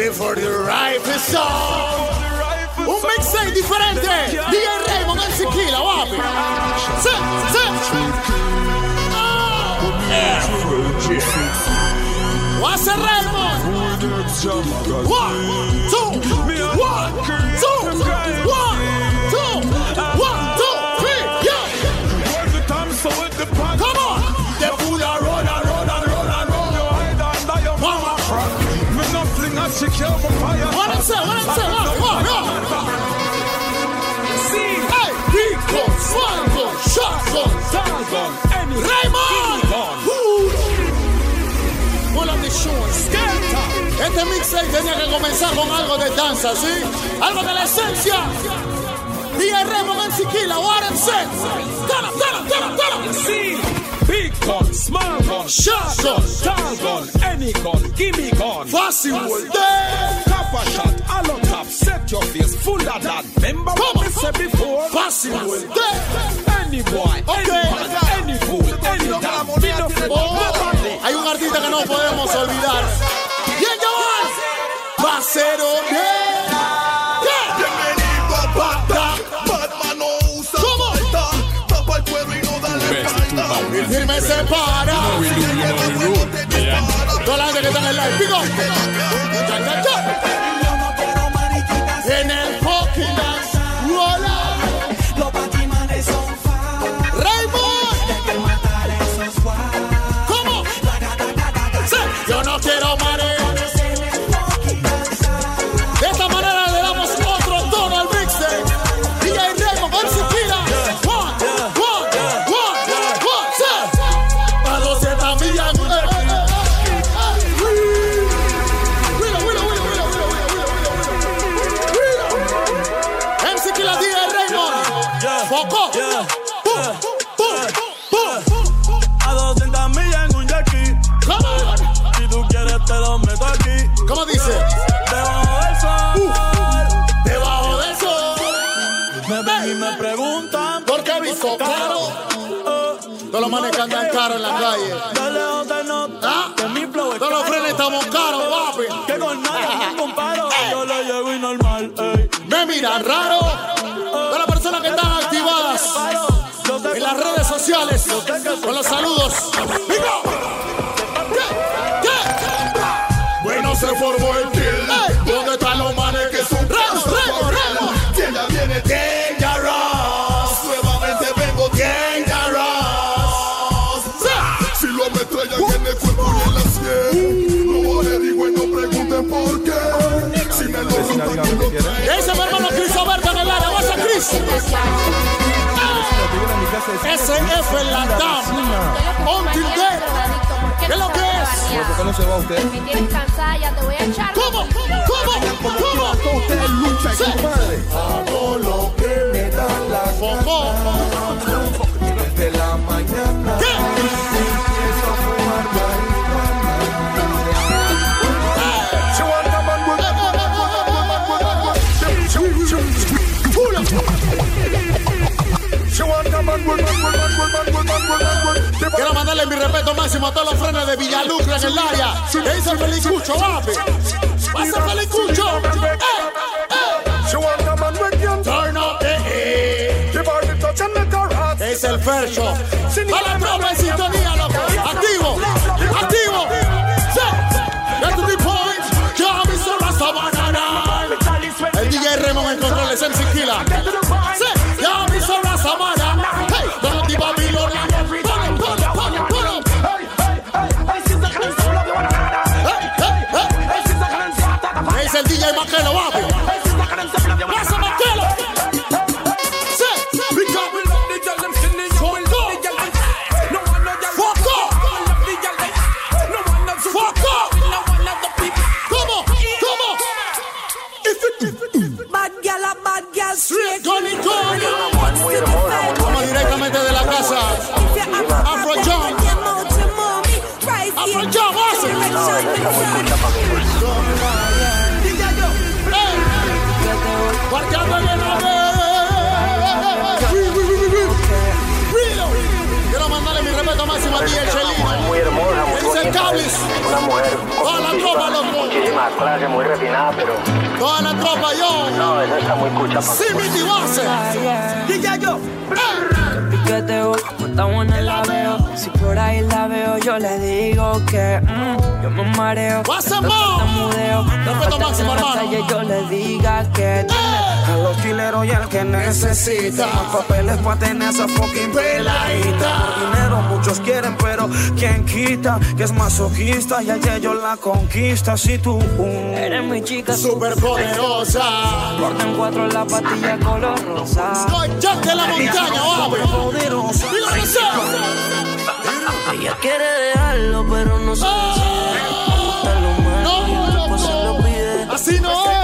Ready for the rifle song. Un mixtape diferente. DJ Raymond en Sequila, guapi. Sí. What's a Raymond? 1, 2, 1, 2, 3, yeah. Come on. The fool a run. Mama. What I'm saying? Hey, big gun, small gun, shotgun, tall gun, Raymond. Pull up the shoes. Este mixtape tenía que comenzar con algo de danza, ¿sí? Algo de la esencia. DJ Raymond en Sequila, what I'm saying? Tell him. Big gun, small gun, shotgun, tall gun, any gun, gimme gun. Fácil, Tap a shot, hollow top, set your face full of that. Remember what we said before? Fácil, any boy, any man, any fool, any damn, hay un artista que no podemos olvidar. ¿Quién Joan? Pasero bien. Bienvenido a Bagdad. Batman no usa falta. Tapa el cuero y no dale falta. Y firme se para. Toda la gente que está en el live. Pico. En el fucking dance. Rola. Los batimanes son fáciles. Raymond. ¿Cómo? Sí. Yo no quiero marear. De esta manera le damos otro tono al mixtape. DJ Raymond con Sequila. A 200 millas. En Sequila, DJ Raymond. Foco. A 200 millas en un yaqui. Come on. Si tú quieres te lo meto aquí. ¿Cómo dice? Debajo del sol. Debajo del sol. Me ven y me preguntan ¿Por qué visto caro? Todos los manes que andan caros en la calle. de lejos te noto ¿Ah? que mi flow es Todos los frenes estamos caros, papi. que con nadie me comparo. Yo le llego y normal, ey. Me miran raro. Todas las personas que están activadas Yo sé en las redes sociales. Con los saludos. ¡Pico! ¿Qué? Bueno, se formó el kill. ¿Dónde están los manes que son Remo. Que ya viene Dangerous. Nuevamente vengo Dangerous. Si lo ametrallan en el cuerpo y en la sien, no le digo y no pregunten por qué. Si me lo rompan, tú lo traes. Ese es mi hermano Chris Alberto en el área. ¿Vas a Chris? SF en la DAM. Until Death. ¿Qué es lo que es? ¿Por qué no se va usted? Me tienes cansada, ya te voy a echar. ¿Cómo? Usted lucha, compadre. Hago lo que me da la Foco. Desde la mañana. ¿Qué? Quiero mandarle mi respeto máximo a todos los frenes de Villalucre en el área. ¿Qué dice el Felicucho, papi? ¡Pasa Felicucho! Turn up the heat. Es el Fercho. A la tropa en sintonía, loco. Activo. Sí. Get to the point. Ya Mr. Rastabanana. El DJ Raymond en controles en Sequila. Sí. Ya Mr. Rastabanana. Hey, don't be Babylonian. Es el DJ Maquelo, papi. Pasa Maquelo. Sí. Foco. ¿Cómo? Bad girl, straight. Tony. Vamos directamente de la casa. Afro John, base. Guardando en el quiero mandarle mi respeto máximo a DJ Chelino. Muy hermosa, Dice Cablis. una mujer Toda la tropa, loco. muchísimas clases, muy refinada. Toda la tropa, yo. No, eso está muy cucha. Sí, mi tibase. Y ya yo. Piqueteo, está buena la veo. Si por ahí la veo, yo le digo que yo me mareo. Pasa más. Respeto máximo, hermano. Yo le diga que a los chileros y al que necesita más papeles para tener esa fucking peladita. Por dinero muchos quieren, pero ¿quién quita? Que es masoquista y ayer yo la conquista. Si tú eres mi chica super poderosa, cortan 4 la patilla color rosa. Soy Jack de la montaña, hombre. Poderosa. Ella quiere dejarlo, pero no se decide. Se lo pide. Así no es.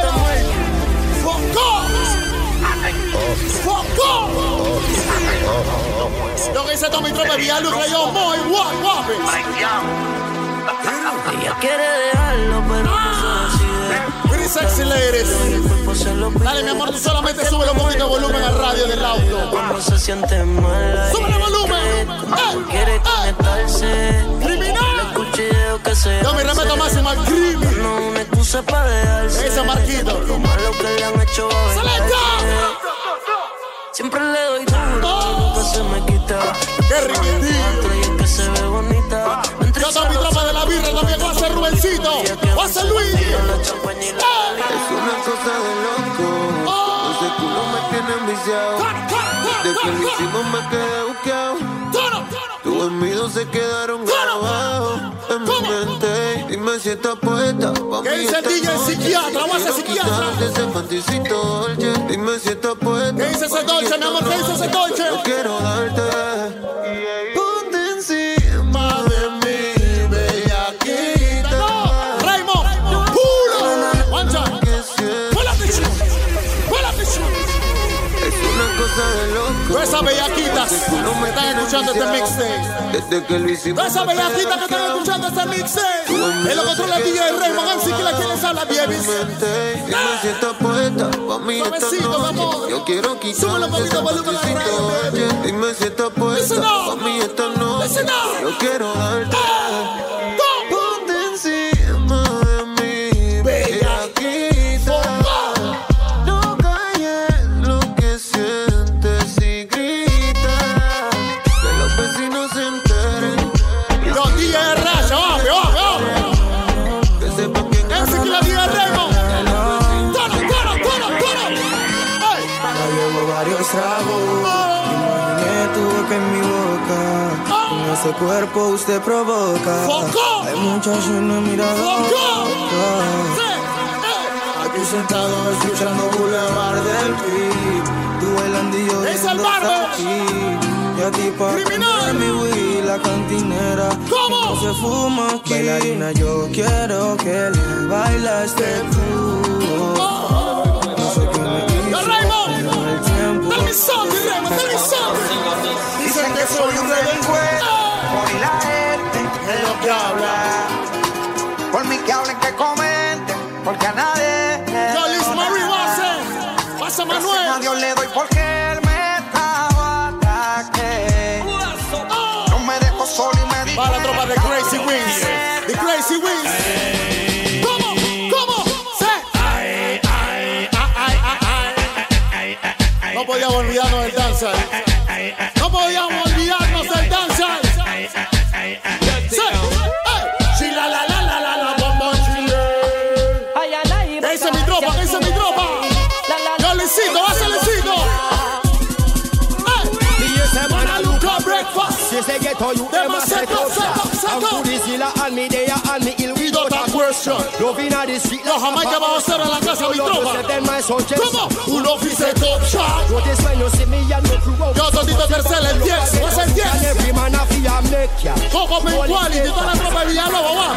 ¡Foco! Lo que dice Tommy Trope, Villaluz, que yo muy guapo. Ella quiere dejarlo, pero no se decide. Pretty sexy ladies. Dale, mi amor, tú solamente sube un poquito de volumen al radio del auto. Cuando se siente mal. ¡Sube el volumen! Quiere conectarse. ¡Criminal! Que se yo me remeto máximo al crimen. No una excusa para dejarse. Ese Marquito. Lo malo que le han hecho a siempre le doy duro, nunca se me quita. ¡Qué riquitillo! Y es que se ve bonita. Yo soy mi tropa de la birra, también va a ser Rubencito. Va a ser Luis. Es una cosa de loco. Ese culo me tiene enviciado. Desde que lo hicimos me quedé buqueado. Tus envidios se quedaron grabados en mi mente. Dime si estás puesta. ¿Qué dice el DJ psiquiatra? Voy a ser psiquiatra. Ese panticito dolce. Dime si estás puesta. ¿Qué dice ese dolce, mi amor? ¿Qué dice ese dolce? Yo quiero darte. Ponte encima de mí, bellaquita. Raymond, puro. Mancha. Pull up the shoe. Es una cosa de loco. Todas esas bellaquitas que están escuchando este mixtape. Desde que lo hicimos. Todas esas bellaquitas que están escuchando este mixtape. Es lo que controla el DJ Raymond. Así que la quieres hablar, baby. Dime si estás puesta. Pa' mí esta noche. Yo quiero quitarme ese panticito. Dime si estás puesta. Pa' mí esta noche. Yo quiero darte. Ponte encima de mí, bellaquita. No calles lo que sientes y grita. Que los vecinos se enteren. Yo, DJ Racha, vamos. Que sepan quién es. Ese que la DJ Raymond. Tono. Ya llevo varios tragos. Imaginé tu boca en mi boca. Con ese cuerpo usted provoca. Hay muchas en la mirada. Aquí sentado escuchando Boulevard del Beat. Tú bailando y yo viendo hasta aquí. Y a ti pa' mi Wii, la cantinera. ¿Cómo? No se fuma aquí. Bailarina, yo quiero que le baila este club. No sé qué me hizo, pero el tiempo. Tell me something, Raymond, tell me something. Dicen que soy un delincuente. Por la gente Es lo que habla. por mí que hablen, que comenten, porque a nadie. Yo, Liz Marie, pasa Manuel. A Dios le doy porque él me estaba ataque. No me dejo solo y me dijo. Va la tropa de Crazy Wings. The Crazy Wings. ¿Cómo? No podíamos olvidarnos del danzar. No podíamos olvidarnos del danzar. Chila la bombón chile. ¿Qué dice mi tropa? Yo Licito, va a ser Licito. Breakfast. Los Jamaica vamos a hacer en la casa mi tropa. ¿Cómo? Un officer top shot. Yo todito tercero el 10. ¿Vas el 10? Coco Mencuali, de toda la tropa de Villalobos, va.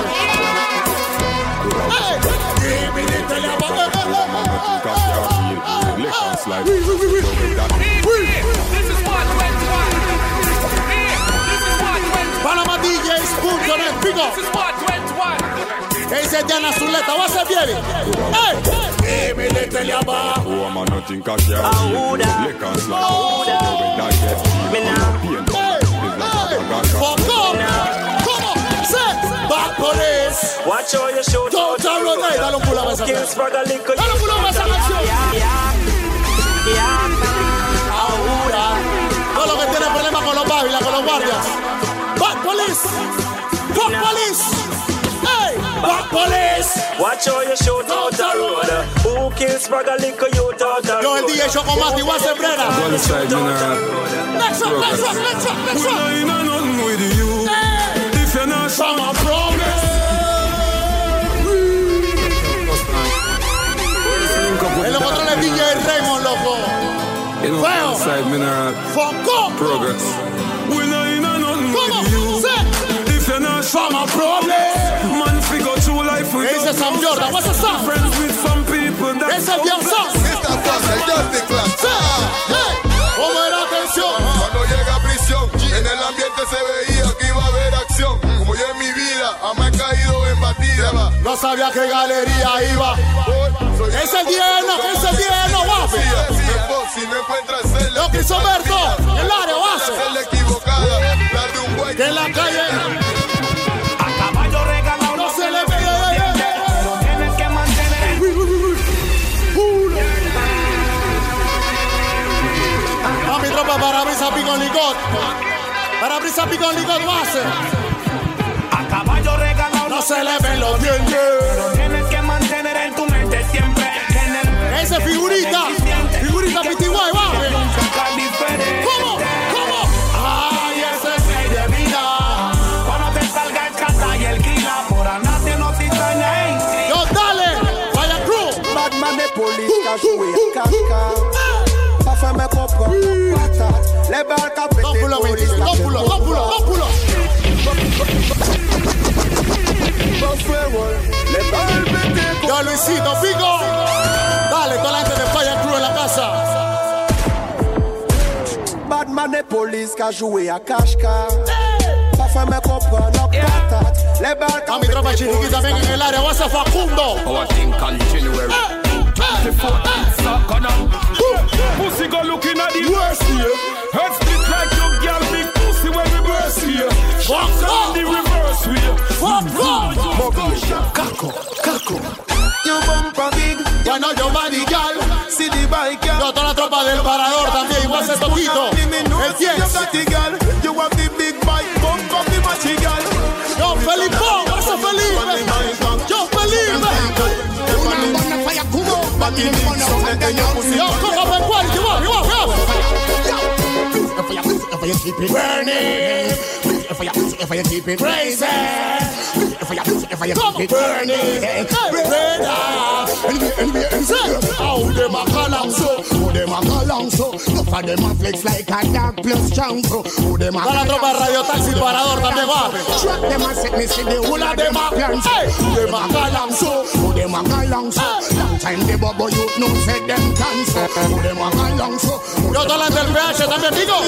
Panama.djs.net, pico. ¿Qué dice Diana Zuleta? ¿Va a ser bien? ¿Cómo? Bad police. Watch how you shoot. Don't rotate. dale un pull up a esa canción. Dale un pull up a esa canción. Ahora, todo lo que tiene problemas con los babilas, con los guardias. Back police. Fuck police. Hey, back police. Watch how you shoot out the road. Who kills brother liquor you out the road? Yo, el DJ Chocomati, igual se brera. Next one. We ain't nothing with you. If you're not from a problem. En los controles DJ Raymond, loco. Feo. Foco. Progress. We ain't nothing with you. If you're not from a problem. Man, figure through life with ese es Sam Jordan, what's the song? Friends with some people that ese es bien song. Esta cosa es Just the Class. ¿Cómo era atención? Cuando llega a prisión, en el ambiente se veía que iba a haber acción. Como yo en mi vida, jamás he caído en batida. No sabía qué galería iba. Es el lleno, guapo. Si no encuentras el lo que hizo Berto, el área base. La equivocada, darle un güey. Que en la calle. A caballo regalado no se le ve. Pero tienes que mantener. A mi tropa para brisa picón licot. Para brisa picón licot base. A caballo regalado no se le ven los dientes. Pero tienes que mantener en tu mente siempre. Ese figurita pitiguay, baje. ¿Cómo? Ay, ese es mi de vida. Cuando te salga el cata y el kila, por andarte no te extraña. Yo, dale, vaya crew. Batman de policía, joué caca. Pa' faire mes propres patates. Les balles qu'a pété police. Dos pulos. Yo, Luisito, Pico. Dale, toda la gente de Fire Crew en la casa. Batman de police qu'a joué à cache-cache. Pa' faire mes propres patates. Les balles qu'a a mi tropa chiriquí también en el área. What's up, Facundo? Our thing continuary. Pussy go looking at the worst here. Head split like your girl, big pussy when we burst here. Fuck on the reverse wheel. Fuck on. Caco. You bumper big. Ya no yo body girl. See the bike. Yo toda la tropa del parador también. Igual se toquito. El 10. You have the big bike. Bump up the machi girl. Yo Felipón. What's up, Felipe? Yo Felipe. Yo, come up and quality, you if you keep it burning, if you keep it crazy, if you keep it burning, how them a call on so, no for them a flex like a dog plus strong so, who them a call on so. La tropa Radio Taxi Parador también va. Track them a set me see the whole of them a plan so, who them a call on so, who them a call on so. Long time the bubble you know say them cancer, who them a call on so. Yo toda la del PH también digo.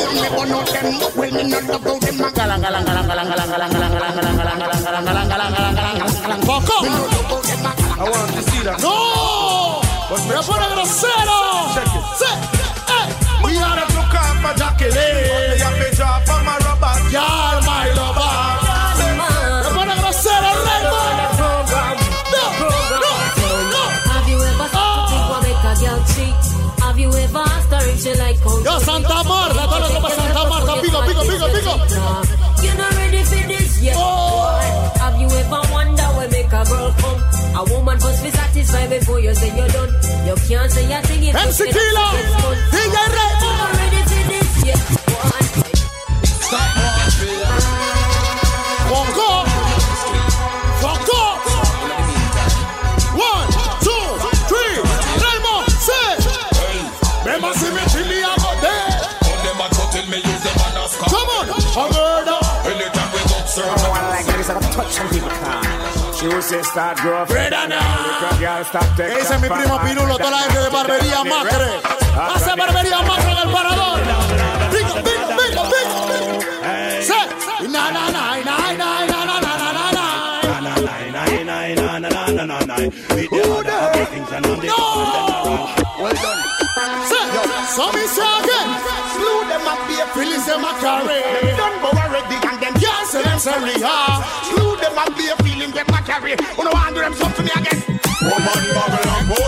Poco. I want to see that. No. Me pone grosero. We are to come for Jacqueline. You have to drop from my rubber. Ya, my lover. Me pone grosero, Raymond. Have you ever thought make a girl cheat? Have you ever asked her if she like cold? Yo, Santa Marta, todo lo que pasa Santa Marta, pico. You're not ready for this yet. Have you ever wondered where make a girl come? A woman must be satisfied before you say you're done. You can't say a thing if you MC Killa, DJ Ray. You're not ready for this yet. Stop walking. Foco. 1, 2, 3. Raymond, say. Remember, see me chili a go there. Them a tell me use them on a scar. Come on, a murder. Anytime we go serve. I like that is a touch some people can. She will say start grow up. Ese es mi primo Pirulo, toda la gente de Barbería Macre. Hace Barbería Macre en el parador. Pico. Say. Na. Well done. So me say again. Slew them up here. Release them a carry. Done but already and them can't say them sorry. Slew them up here. Feeling them a carry. Who no want do them something to me again?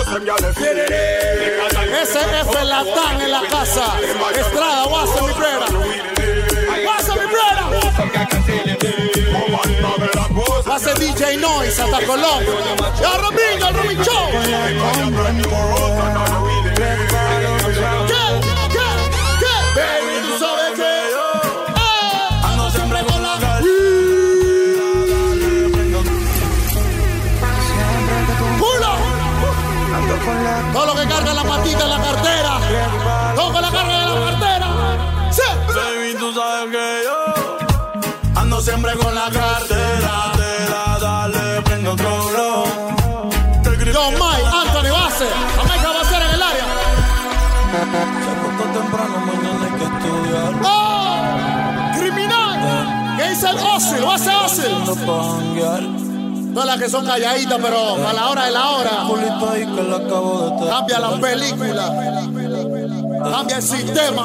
SF Latán en la casa. Estrada, Guasa, mi brera. Guasa, mi brera. Hace DJ Noise hasta Colón. Ya Robin, el Robin Show. ¿Qué? Baby, tú sabes que ando siempre con la ¡Pulo! Todo lo que carga la patita en la cartera. Todo que la carga en la cartera. Sí. Baby, tú sabes que yo ando siempre con la cartera. Dale, prende otro blow. Yo, Mike, Anthony Base. Jamaica va a ser en el área. Se acostó temprano, mañana hay que estudiar. ¡Oh! ¡Criminal! ¿Qué dice el Osil? ¿Va a ser Osil? Todas las que son calladitas, pero a la hora de la hora. Cambia la película. Cambia el sistema.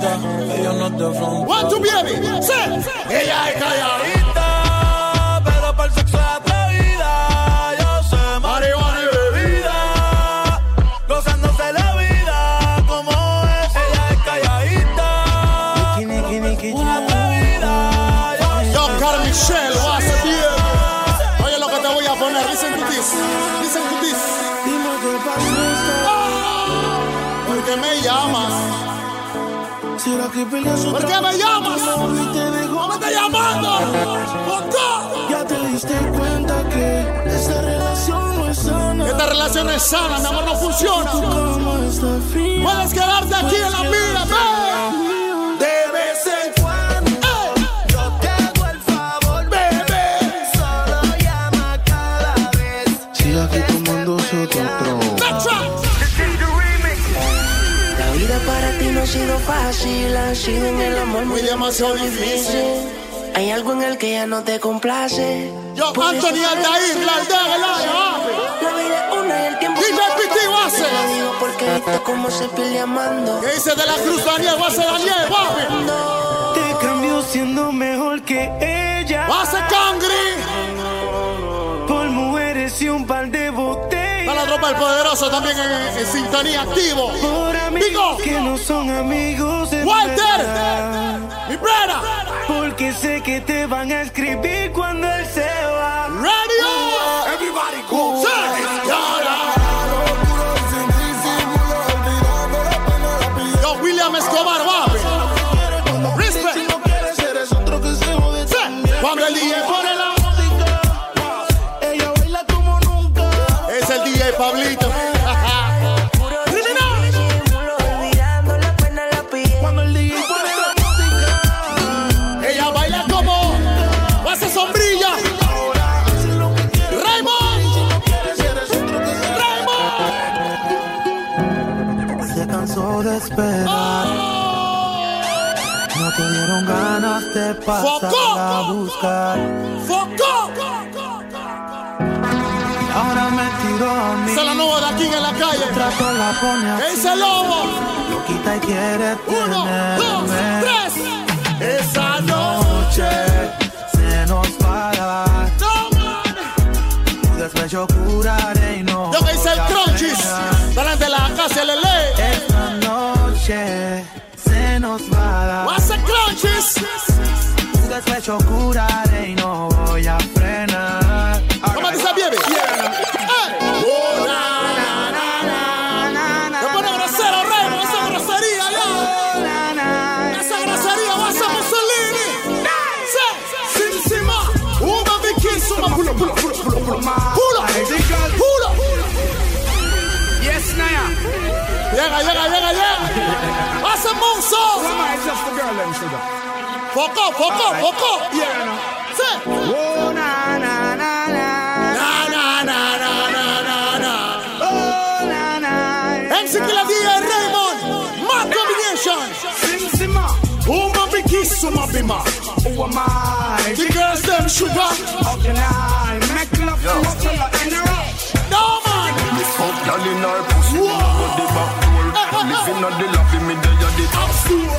One, two, baby. Sí. Ella es calladita, pero para el sexo es atrevida. Yo sé marihuana y bebida, gozándose la vida como es. Ella es calladita, atrevida. Yo, Carl Michelle, what's up, bien. Oye lo que te voy a poner. Listen to this. Listen to this. ¿Por qué me llamas? ¿Por qué me llamas? ¿No me estás llamando? ¿Por qué? Ya te diste cuenta que esta relación no es sana. Esta relación no es sana, mi amor, no funciona. Puedes quedarte aquí en la mía, de vez en cuando yo te hago el favor, bebé. Solo llama cada vez. Sigue aquí tomando su otro. La vida para ti no ha sido fácil, ha sido en el amor muy demasiado difícil. Hay algo en el que ya no te complace. Yo, Anthony Aldair, la aldea del área. La vida es una y el tiempo DJ Piti Base. Te lo digo porque viste cómo se pierde amando. ¿Qué dice de la Cruz Daniel? Base Daniel, papi. Te cambió siendo mejor que ella. Base Cangri. Por mujeres y un par de botellas. Está la tropa del poderoso también en sintonía activo. Por amigos que no son amigos. Walter, mi brera. Porque sé que te van a escribir cuando él se va. Radio, everybody go. Yo, William Escobar, papi. Respect. Cuando el DJ pone la música, ella baila como nunca. Es el DJ Pablito. Cuando el DJ pone la música, ella baila como hace sombrilla. Raymond. Se cansó de esperar. No te dieron ganas de pasar a buscar. ¡Foco! Ahora me tiró a mí. Esa es la nueva de aquí en la calle. Trato la pone así. ¡Ese lobo! Lo quita y quiere 1, 2, 3. Esa noche se nos va a dar. No, man. Tu despecho curaré y no. Yo que hice el crunchies. Delante de la casa Lele. Esta noche se nos va a dar. What's the crunchies? Tu despecho curaré y no voy a frenar. ¿Cómo te sabes, baby? Me pone grosero, Raymond. Esa grosería, ya. Esa grosería va a ser Mussolini. Sin encima. Una biquísima. Pulo. Yes, Naya. Llega. Va a ser Monzo. Foco. Yeah, no. Sí. Oh, na. Na. Oh, na. MC Killa DJ Raymond. Mad combination. Sima. Uma biquísima bima. Who am I? The girls them sugar. How can I make love to a fella in a rush? No man. Me fuck y'all in her pussy. Me go the back door. Living on the lobby. Me there at the top floor.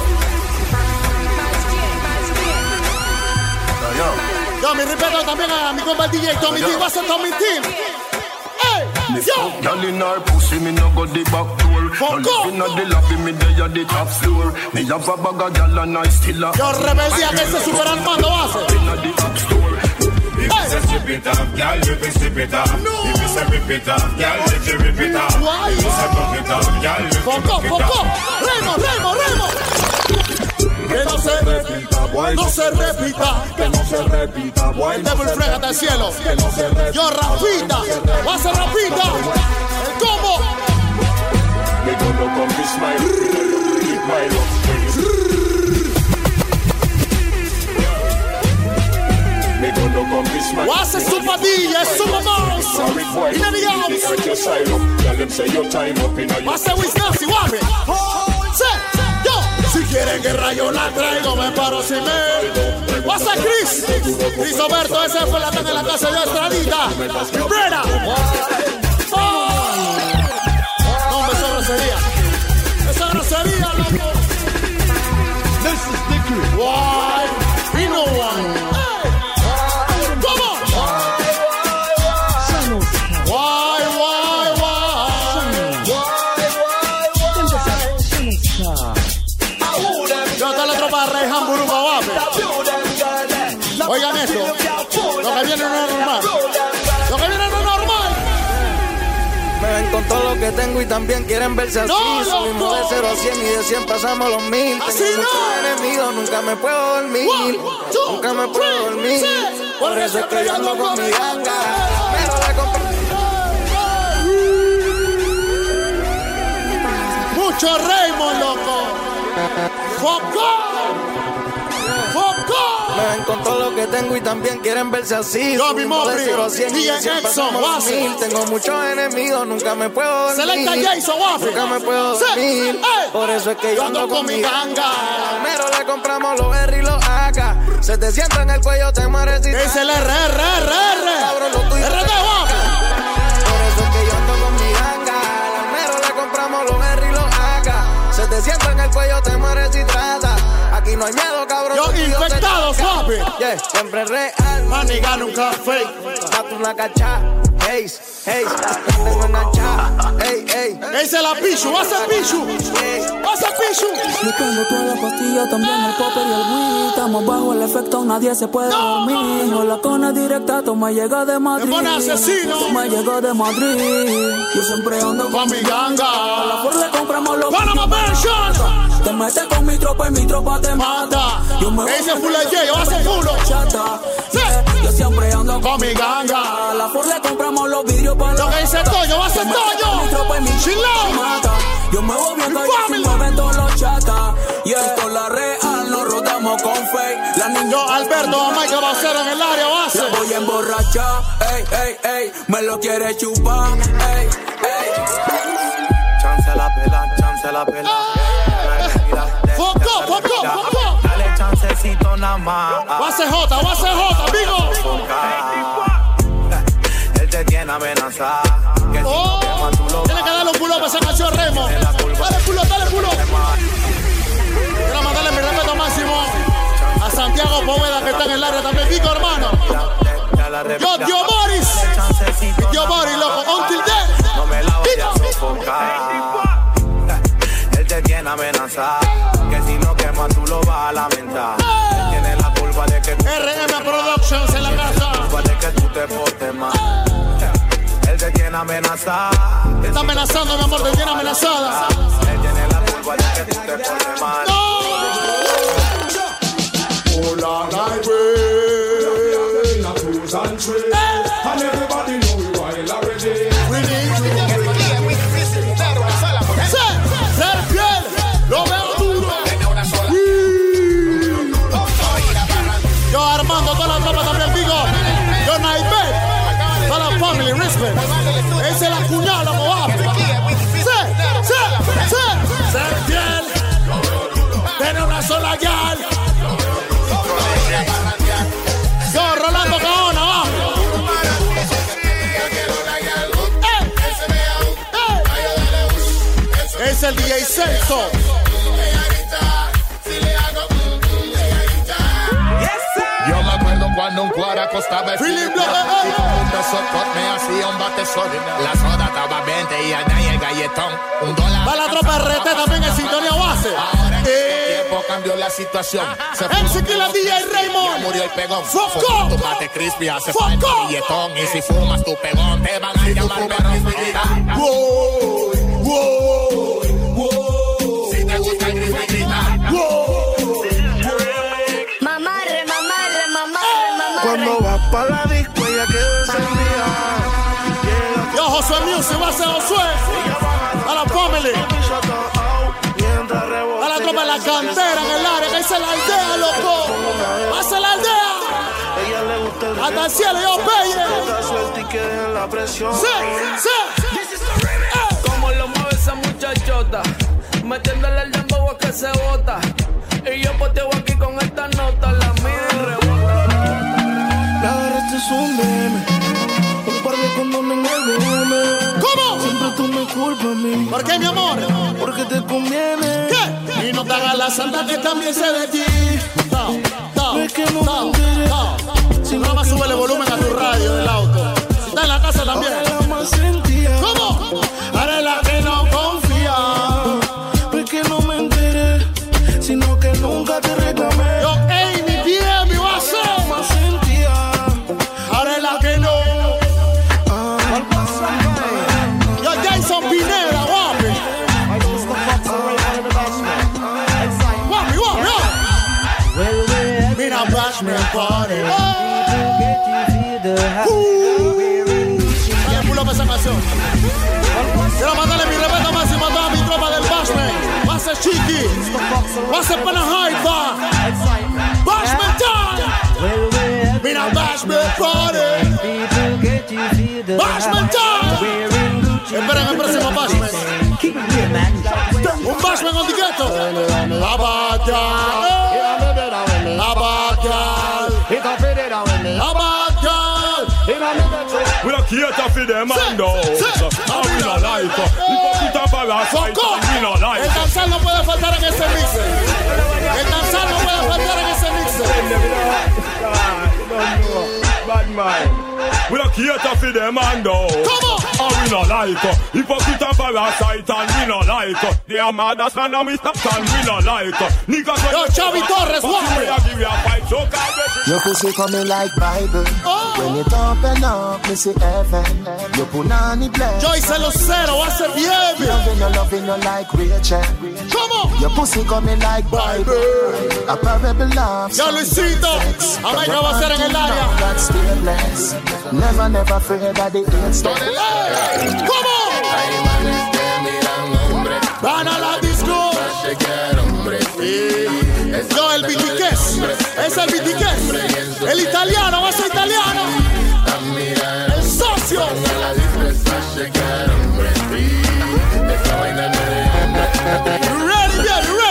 Yo, mi respeto también a mi compa DJ Tommy T. Va a ser Tommy Team. ¡Ey! Girl in her pussy, me no go the back door. No living at the lobby, me there at the top floor. Me have a bag of girl and I still a. Yo, rebeldia que ese super Armando hace. In the top store. If you say strip it off, girl, you can strip it off. If you say rip it off, girl, you can rip it off. If you say buck it off, girl, you can buck it off. Remo. Que no se repita, boy. No se repita. Que no se repita, boy. El Devil frégate al cielo. Que no se repita. Yo, rapita. Va a ser rapita. El combo. Me gonna come this my keep my love. Me gonna come this my. What's a super DJ, super mouse? In the house. Your side up. Tell them say your time up in a. What's a Wisconsin, Wabby? Si quieren guerra yo la traigo, me paro sin ver. What's a Chris? Chris Oberto, ese fue la tan en la casa de Estradita. Brera. No, me grosería. Esa grosería, loco. This is Dickery. Why? We know one. Come on. Oigan esto, lo que viene no es normal. Lo que viene no es normal. Me ven con todo lo que tengo y también quieren verse así. Subimos de 0 a 100 y de 100 pasamos los 1000. Así Tengo muchos enemigos, nunca me puedo dormir. Nunca me puedo dormir. Por eso es que yo ando con mi ganga. Pero la compré. Mucho Raymond, loco. ¡Foco! Me ven con todo lo que tengo y también quieren verse así. Subimos de 0 a 100 y de 100 pasamos los 1000. Tengo muchos enemigos, nunca me puedo dormir. Selecta Jason Waffle. Nunca me puedo dormir. Por eso es que yo ando con mi ganga. Primero le compramos los R y los AK. Se te sienta en el cuello, te mueres y es el RRRR. Cabrón, lo tuyo. RD Waffle. Por eso es que yo ando con mi ganga. Primero le compramos los R y los AK. Se te sienta en el cuello, te mueres y trata. Aquí no hay miedo, cabrón. Yo infectado, papi. Yeah, siempre real. Maniga nunca fake. Mato una cacha. Hey, tengo enganchada. Hey. Esa es la Pichu. What's a Pichu? What's a Pichu? Yo tengo toda la pastilla, también el popper y el weed. Estamos bajo el efecto, nadie se puede dormir. Hola con la directa, toma llega de Madrid. Me pone asesino. Toma llega de Madrid. Yo siempre ando con mi ganga. A la Ford le compramos los Panama Version. Te metes con mi tropa y mi tropa te mata. Ese full de yo hace fulo. Yo siempre ando con mi ganga. A la Ford le compramos los vidrios para lo que dice Toño, va a ser Toño. Mi tropa y mi mata. Yo me voy viendo y me ven todos los chatas. Y esto es la real, nos rotamos con fake. La niña Alberto, Michael Bacero en el área base. Yo voy a emborrachar, ey, me lo quiere chupar, ey. Chance la pela. Foco. Dale chancecito nada más. Va a ser J, amigo. Él te tiene amenazada. Tiene que darle un pull-up a esa canción, Remo. Dale pull-up. Quiero mandarle mi respeto máximo a Santiago Poveda, que está en el área también. Pico, hermano. Yo, Tío Boris, loco. Until then. No me la voy a sofocar. Él te tiene amenazada. Que si no quema tú lo vas a lamentar. Él tiene la culpa de que RM Productions en la casa. Culpa de que tú te portes mal. Él te tiene amenazada. Te está amenazando, mi amor, te tiene amenazada. Él tiene la culpa de que tú te portes mal. Hola, highway, na cruise and trade, and everybody know we wild already. We need to ser fiel, lo veo duro. Yo Armando, toda la tropa también digo. Yo Naibet, toda la family, respect. Esa es la cuñada, como va. Ser fiel, tener una sola gal. Yo, Rolando Caona, va. Es el DJ Celso. Yo me acuerdo cuando un cuore acostaba Philip y con un beso me hacía un bate sólido. La soda estaba 20 y allá el galletón $1. Va la tropa RT también en sintonía base. Ahora en este tiempo cambió la situación. Se fue la DJ Raymond. Murió el pegón. Foco. Tu bate crispy hace falta billetón. Y si fumas tu pegón te van a llamar perro. Wow, wow, wow. Si te gusta el crispy grita. Wow. Mamarre. Cuando vas pa' la disco ella queda encendida. Yo, Josué Music, va a ser Josué. A la family. A la tropa de la cantera en el área, que esa es la aldea, loco. Va a ser la aldea. Hasta el cielo, yo peye. Sí. Como lo mueve esa muchachota, metiéndole el dembow a que se bota. Y yo poteo aquí con esta nota, la mía y rebota. La agarraste es un meme, un par de condones en el BM. ¿Cómo? Siempre tú me culpas a mí. ¿Por qué, mi amor? Porque te conviene. ¿Qué? Y no te hagas la santa que también sé de ti. Es que no me enteré. Si no, más súbele volumen a tu radio del auto. Si está en la casa también. Ahora la más sentía. ¿Cómo? Ahora es la que no confía. Es que no me enteré, sino que nunca te reclamé. Yo, ey, mi bien, mi va a ser. Más sentía. Ahora es la que no. Yo, Jason Pineda, guapi. Mira, Bashman Party. Dale pulo para esa canción. Quiero mandarle mi respeto máximo a toda mi tropa del Bashman. Va a ser Chiqui. Va a ser Panajaipa. Bashman Time. Mira, Bashman Party. Bashman Time. Esperen el próximo Bashman. Un Bashman on the ghetto. La batalla. We don't cater for them and those. And we don't like it. If you put a parasite, we don't like el it. danzar no puede faltar en ese mixer. El danzar no puede faltar en ese mixer. Bad man. We don't cater for them and those. Come on. And we don't like it. Hypocrite and parasite and we don't like it. They are mad as man and we stop and we don't like it. Niggas Yo, Chavi Torres, your pussy coming like Bible. When it open up, me see heaven. Your punani bless. Joyce Lucero, va a ser bien. Loving you like Rachel. Come on. Your pussy coming like Bible. A parable love. Yo, Luisito, América va a ser en el área. Never fear that the AIDS. Come on. Van a la disco. Yo, el Vitiques. Es el Vitiques. El italiano, va a ser italiano. El socio. Ready.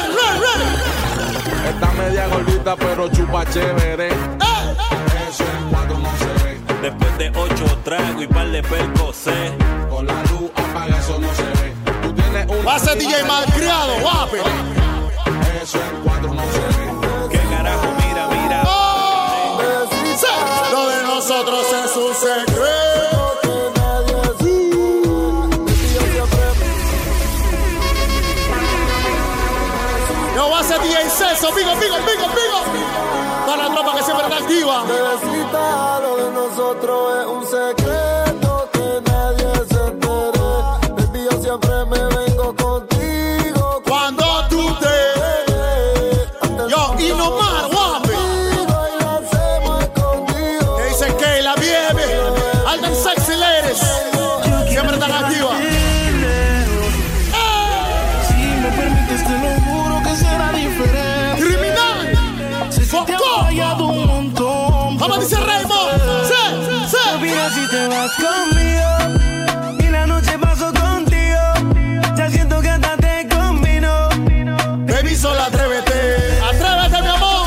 Está media gordita, pero chupa chévere. Eso en cuatro no se ve. Después de 8 tragos y par de percocé. Con la luz apaga, eso no se ve. Tú tienes un. Va a ser DJ malcriado, guapo. Eso en cuatro no se ve. ¿Qué carajo? Mira. Lo de nosotros es un secreto que nadie Yo va a ser DJ Ceso, pico. Para la tropa que siempre está activa. Bebecita, lo de nosotros es un secreto que nadie se entere. Baby, yo siempre me vengo contigo. Cuando tú te... Yo, y no más, guapi. Que dice que la vieve. Alden Sexy Ladies. Siempre están activas. Si me permites, te lo juro que será diferente. Criminal. Te he fallado un montón. Vamos, dice Raymond. Sí. Mira si te vas conmigo y la noche paso contigo. Ya siento que hasta te combino. Baby, solo atrévete, mi amor.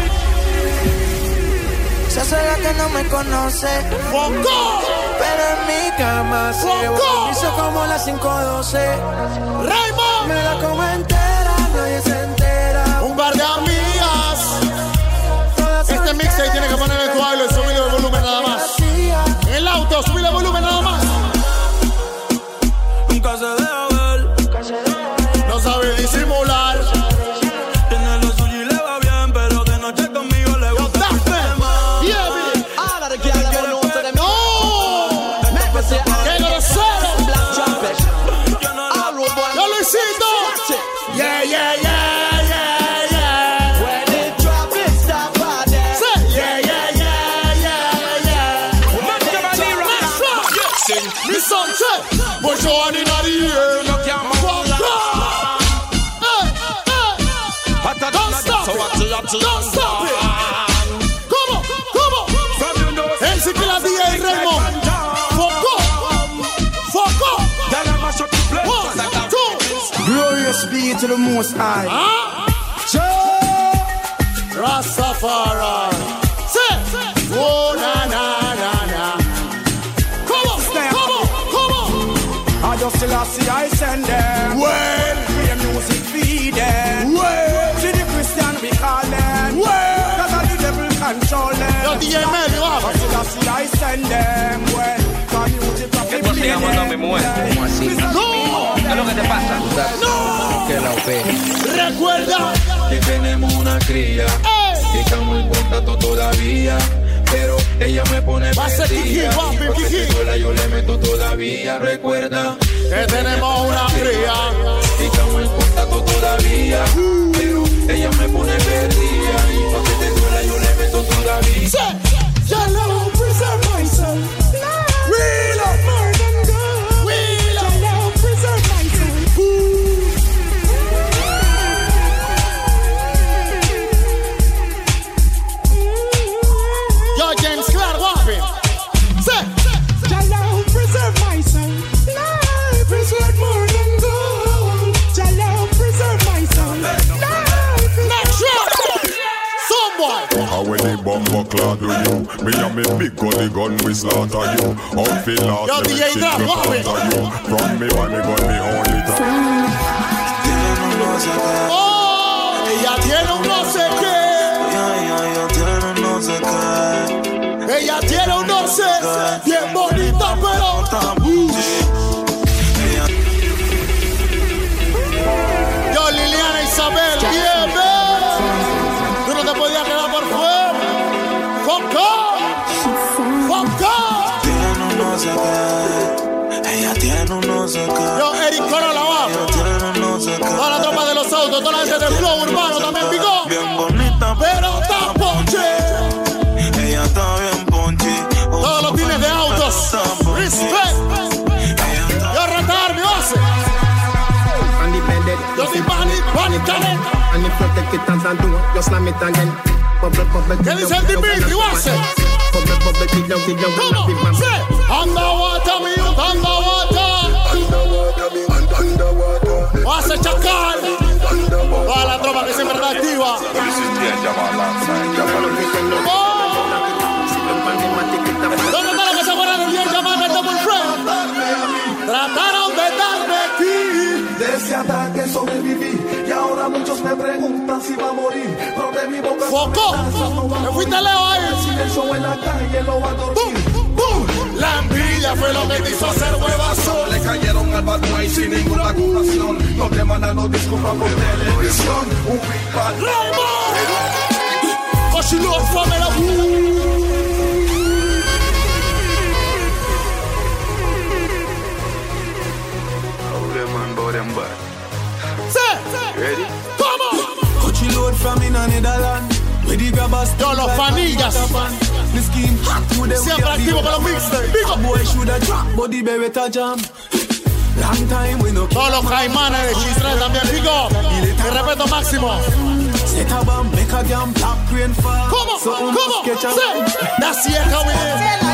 Se hace la que no me conoce. ¡Foco! Pero en mi cama se hizo como las 5:12. Raymond. Me la como entera, nadie se entera. Un par de amigas. Este mixtape tiene que poner en tu baile, subir Joan in the air. Don't stop it. Don't stop it. Come on, come on. Ese que la DJ Raymond. Foco. Foco. 1, 2. Glorious be to the Most High. Rastafari. Say. Oh, na, na, na, na. Come on, come on, come on. I just still see I send them. Well. Free music feed them. Well. To the Christian we call them. Well. Cause all the devil control them. Yo, DJ Mel, you have it. I see I send them. Well. Cause music from the ¿Cómo así? No. ¿Qué es lo que te pasa? No. Que la OP. Recuerda que tenemos una cría y estamos en contacto todavía, pero ella me pone perdida. Yo le meto todavía. Recuerda que tenemos una cría y estamos en contacto todavía, pero ella me pone perdida. Y pa' que te duela yo le meto todavía. Your love preserve myself. We love more than God. We love your love preserve myself. Yo, James Clark, what happened? Say, your love preserve myself. Life preserve more than gold. Your love preserve myself. Life natural. Someone. How when the bomber clad do you? Me and me big gun, we slaughter you. Out fi last, yo, me DJ shit Drop, me what happened? counter you. From me when me gun, me only time. Oh, ella tiene un no sé qué. Ella tiene un no sé, bien bonita, pero yo, Liliana Isabel, bien, tú no te podías quedar por fuera. Foco. Ella tiene un no sé qué. Yo, Eric Corolla, abajo. Toda la tropa de los autos, toda la gente del flow urbano también picó. Bien bonita, pero está ponche. Ella está bien ponche. Todos los tines de autos. Respect. Yo retar mi base. Yo soy Panic Talent. ¿Qué dice el Dimitri? Base. ¿Cómo? Sí. Underwater, mi youth, underwater. Base Chacal. Toda la tropa que siempre está activa. ¿Dónde está lo que se acuerdan del bien llamado Double Friend? Trataron de darme aquí. De ese ataque sobreviví y ahora muchos me preguntan si va a morir. Pero de mi boca Foco, me fuiste lejos ahí. El silencio en la calle lo va a dormir. La envidia fue lo que te hizo hacer huevazo. Le cayeron al bad boy sin ninguna acusación. No te mandan no disculpas por televisión. Un big bad Raymond. But she lost from it. Ready? Come on. Coachy load from in Netherlands. Yo, los fanillas. Siempre activo con los mixtapes. Todos los caimanes de Chisre también, pico. Y respeto máximo. ¿Cómo? ¿Cómo? Sí. That's it, how we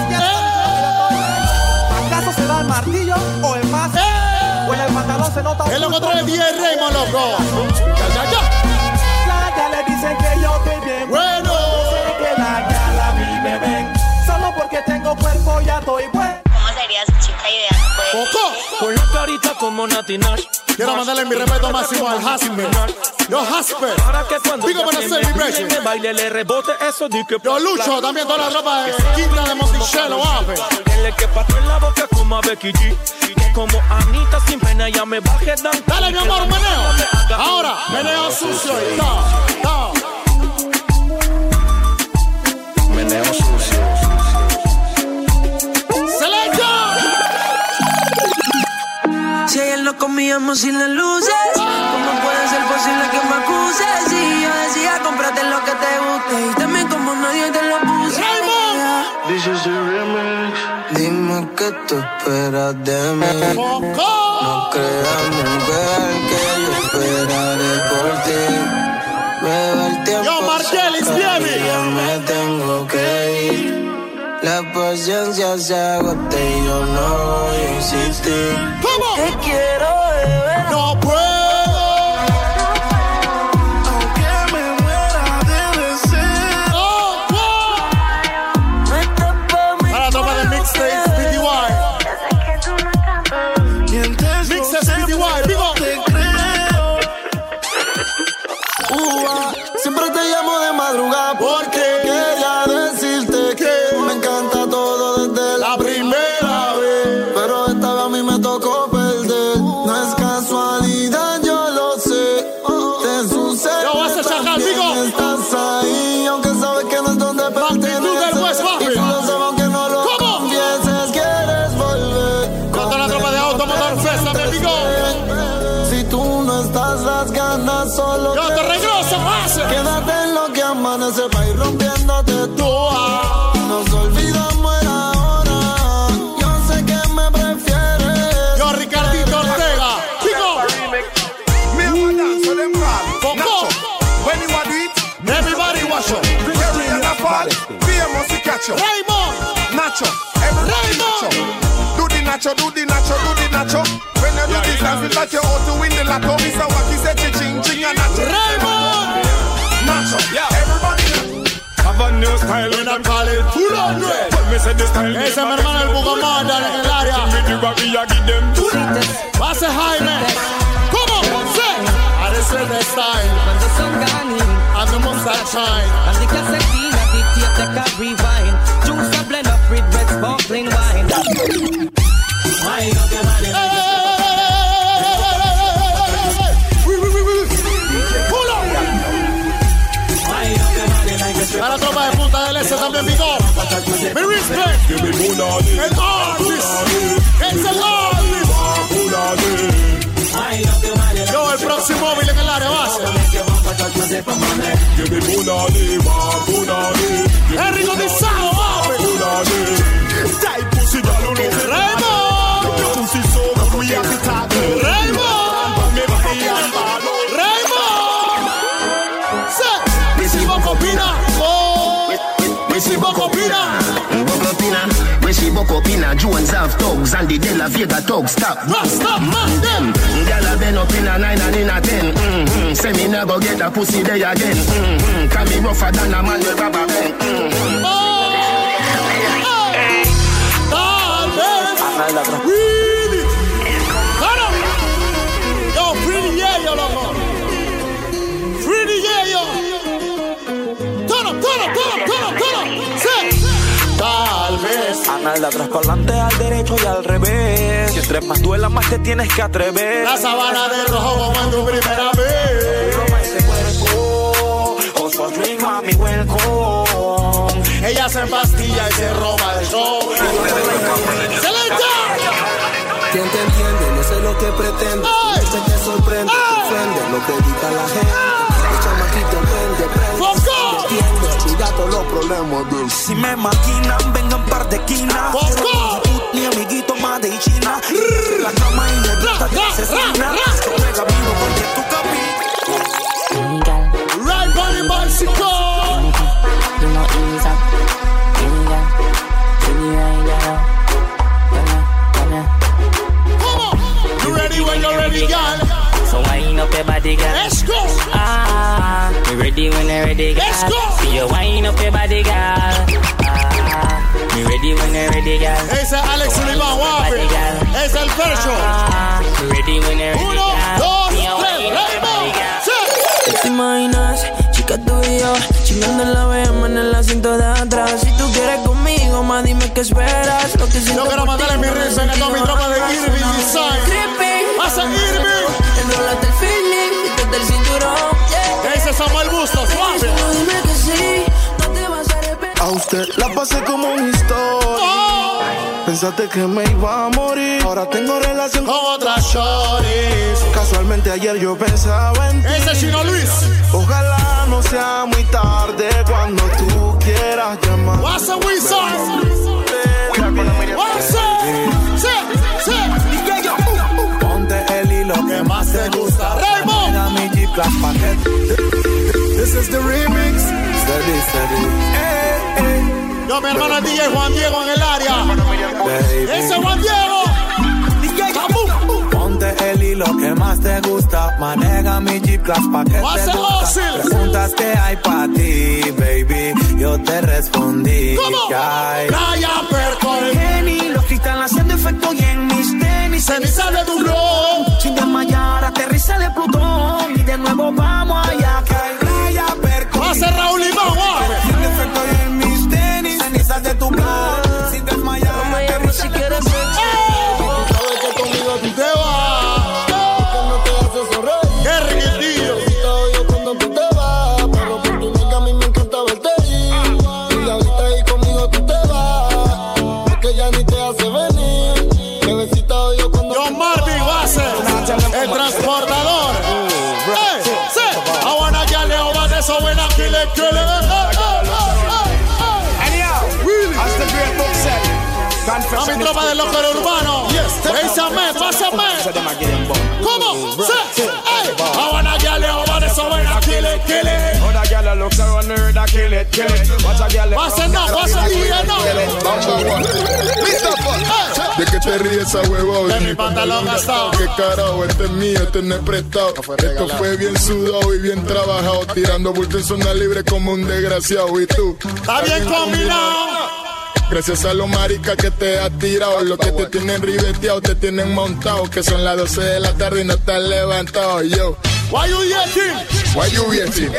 ¿Acaso será el martillo o el más? O en el pantalón se nota. Es lo que trae el DJ Raymond, loco. Ya. Ya le dicen que yo estoy bien. Bueno. Sé que la gala a mí me ven. Solo porque tengo cuerpo ya estoy bueno. ¿Cómo sería su chica ideal? Coco. Con la carita como Nati Nash. Quiero mandarle mi respeto máximo al Hasper. Yo, Hasper. Digo, buenas celebration. Me baile, le rebote eso, di que. Yo, Lucho, también toda la tropa de Quinta de Monticello, ape. Dile que patró en la boca como a Becky G. Como Anita sin pena, ya me bajé dan. Dale, mi amor, meneo. Ahora, meneo sucio y ta. Meneo sucio. Si ayer nos comíamos sin las luces, ¿cómo puede ser posible que me acuses? Si yo decía, cómprate lo que te guste y también como nadie te lo puse. This is the remix. Dime es que tú esperas de mí. No creas, mujer, que yo esperaré por ti. Veo el tiempo. Yo, Margelis, baby. Ya me tengo que ir. La paciencia se agota y yo no voy a insistir. ¿Cómo? Te quiero beber. No puedo. Aunque me muera de deseo. Oh, wow. No está pa' mí. Para la tropa de Mixtapes PTY. Mixtapes PTY, digo. Siempre te llamo de madrugada porque quería decirte que me encanta todo desde la primera vez. Pero esta vez a mí me tocó perder. No es casualidad, yo lo sé. Te sucede. Yo vas a sacar, digo. Estás ahí, aunque sabes que no es donde perteneces. Y tú lo sabes, aunque no lo confieses. Quieres volver. Contra la tropa de Automotor Fest, me digo. Si tú no estás, las ganas solo yo te regreso, base. Quédate en lo que amanece pa' ir rompiéndote tú. Nos olvidamos el ahora. Yo sé que me prefieres. Yo, Ricardito Ortega. Chico. Poco. When you do it, everybody watch out. Carry and a fall. Famous to catch you. Raymond. Nacho. Raymond. Do the nacho, do the nacho, do the nacho. When you do this, I feel like you're out to win the lotto. Mr. Wacky said, ching, ching, and nacho. Raymond. Nacho. Everybody. Have a new style when I call it full on red. Me say this style. Ese es mi hermano el Bugomada en el área. Base Jaime. ¿Cómo? Say. I just said the style. Cuando son gani. And the mustache shine. And the casetina, dictate a rewind. Juice a blend up with red sparkling wine. Wine up your body. Pull up. A la tropa de Punta del Este también picó. Mi respect. El artist. Es el artist. Yo, el próximo móvil en el área base. Henry Cotizado, Copina, Jones have thugs and the De La Vega thugs stop. Stop, man, them. Girl have been up in a 9 and in a 10. Say me never get a pussy there again. Can me rougher than a man with rubber band. Really? Yo, pretty yeah, yo, loco. Pretty yeah, yo. Turn up. Tal vez. Anal atrás para adelante, al derecho y al revés. Si entre más duela, más te tienes que atrever. La sabana de rojo como en tu primera vez. Toma ese cuerpo, also drink, mami, welcome. Ella se empastilla y se roba el show. ¡Excelente! ¿Quién te entiende? No sé lo que pretende. Este te sorprende, te ofende, lo que grita la gente. El chamaquito prende. Olvida todos los problemas de él. Si me maquinan, vengan par de esquinas. Mi amiguito más de China. La cama y la gusta te asesina. Yo pega vivo porque tu capi. Right body bicycle. You know ease up. You ready when you're ready, girl? So wind up your body, girl. Let's go. You ready when you're ready, girl? Let's go. See you wind up your body, girl. You ready when you're ready, girl? Ese es Alex Sullivan, guapo. Es el Fercho. You ready when you're ready, girl? 1, 2, 3, Rainbow. ¿Te imaginas? Chica, tú y yo chingando en la BM en el asiento de atrás. Si tú quieres conmigo, más dime qué esperas. Lo que yo quiero mandarle mi risa a toda mi tropa de Irving Design. Pasa Irving. Enrólate el feeling, quítate el cinturón. Ese es Samuel Bustos, suave. Dime que sí, no te vas a arrepentir. A usted la pasé como una historia. Pensaste que me iba a morir. Ahora tengo relación con otras shorties. Casualmente ayer yo pensaba en ti. Ese es Chino Luis. Ojalá no sea muy tarde cuando tú quieras llamar. What's a wizard? What's up? G-Class paquete. This is the remix. Steady, steady. Yo, mi hermano el DJ Juan Diego en el área. Baby. Ese Juan Diego. DJ Kabum. Ponte el hilo que más te gusta. Maneja mi G-Class pa' que te gusta. Preguntas que hay pa' ti, baby. Yo te respondí. ¿Cómo? Ryan Percol. Jenny, los cristales haciendo efecto y en mis tenis. Ceniza de tu blog. Sin desmayar, aterriza de Plutón. Y de nuevo vamos allá. Que hay Ryan Percol. Va a ser Raúl Limón, sin efecto y en mis tenis. Cenizas de tu blog. Sin desmayar, aterriza si quieres ser. Tú sabes que conmigo tú te vas. Que no te hace sonreír. Qué riquillo. Yo cuando tú te vas. Pero por tu nega a mí me encanta verte ir. Y ahorita ahí conmigo tú te vas. Porque ya ni te hace venir. Bebecita yo cuando John Marvin va a ser el transportador. I wanna get it over there, so when I kill it, kill it. As the great book said, a mi tropa de loco urbano. Pásame. ¿Cómo? I wanna get it over there, so when I kill it, kill it. Other girl looks around her, that kill it. Watch a girl. Pasa no. ¿De qué te ríes esa huevón? De mi pantalón gastado. ¿Qué carajo? Este es mío, este no es prestado. Esto fue bien sudado y bien trabajado. Tirando bulto en zona libre como un desgraciado. ¿Y tú? Está bien combinado. Gracias a los maricas que te has tirado. Los que te tienen ribeteado, te tienen montado. Que son las 12 de la tarde y no estás levantado. Yo, why you yelling? Why you yelling?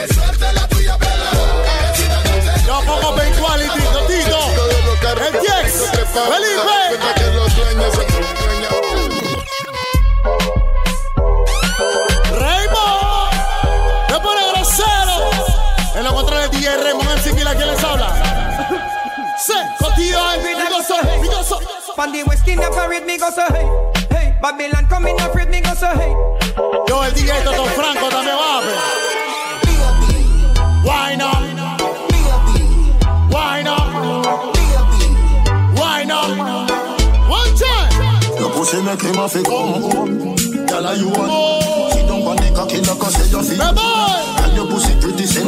Yo pongo Ben Quality, Tito. El Jex, Felipe. Raymond, me pone grosero. En los controles DJ Raymond MC, ¿quién les habla? Cotillo, me go so. Pandy West in the parade, me go so hey. Hey, Babylon coming up, me go so hey. Yo, el DJ Toto Franco también va a ver. Why not? Why not? Why not? One time. Your pussy make him a fi come. Girl, you want? She don't panic, I kill her 'cause you feel. Girl, your pussy pretty, say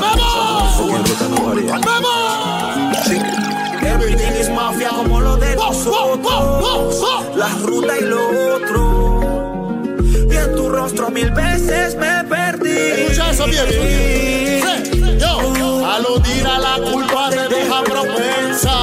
Everything is mafia como lo de nosotros. La ruta y lo otro. Y en tu rostro 1000 veces me perdí. Escucha eso bien. Yo, aludir a la culpa te deja propensa.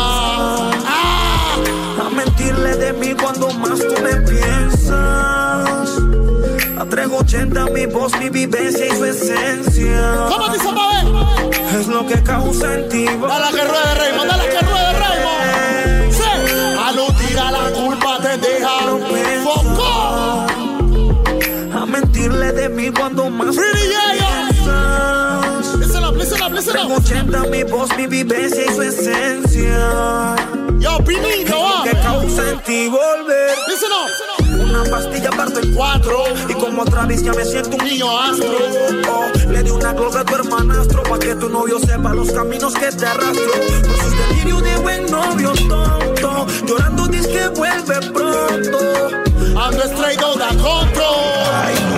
A mentirle de mí cuando más tú me piensas. A 380 mi voz, mi vivencia y su esencia. ¿Cómo dice Mabel? Es lo que causa en ti. Dale que ruede Raymond, Sí. Aludir a la culpa te deja foco. A mentirle de mí cuando más tú me piensas. Listen up. 380 mi voz, mi vivencia y su esencia. Yo, Pinito, que causa en ti volver. Listen up. Una pastilla parto en 4. Y como otra vez ya me siento un niño astro. Le di una glosa a tu hermanastro pa' que tu novio sepa los caminos que te arrastro. Por sus delirios de buen novio tonto. Llorando dice que vuelve pronto. Ando straight out of control.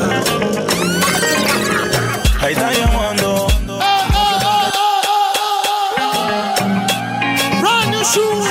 Ahí está llamando. Brand new shoes.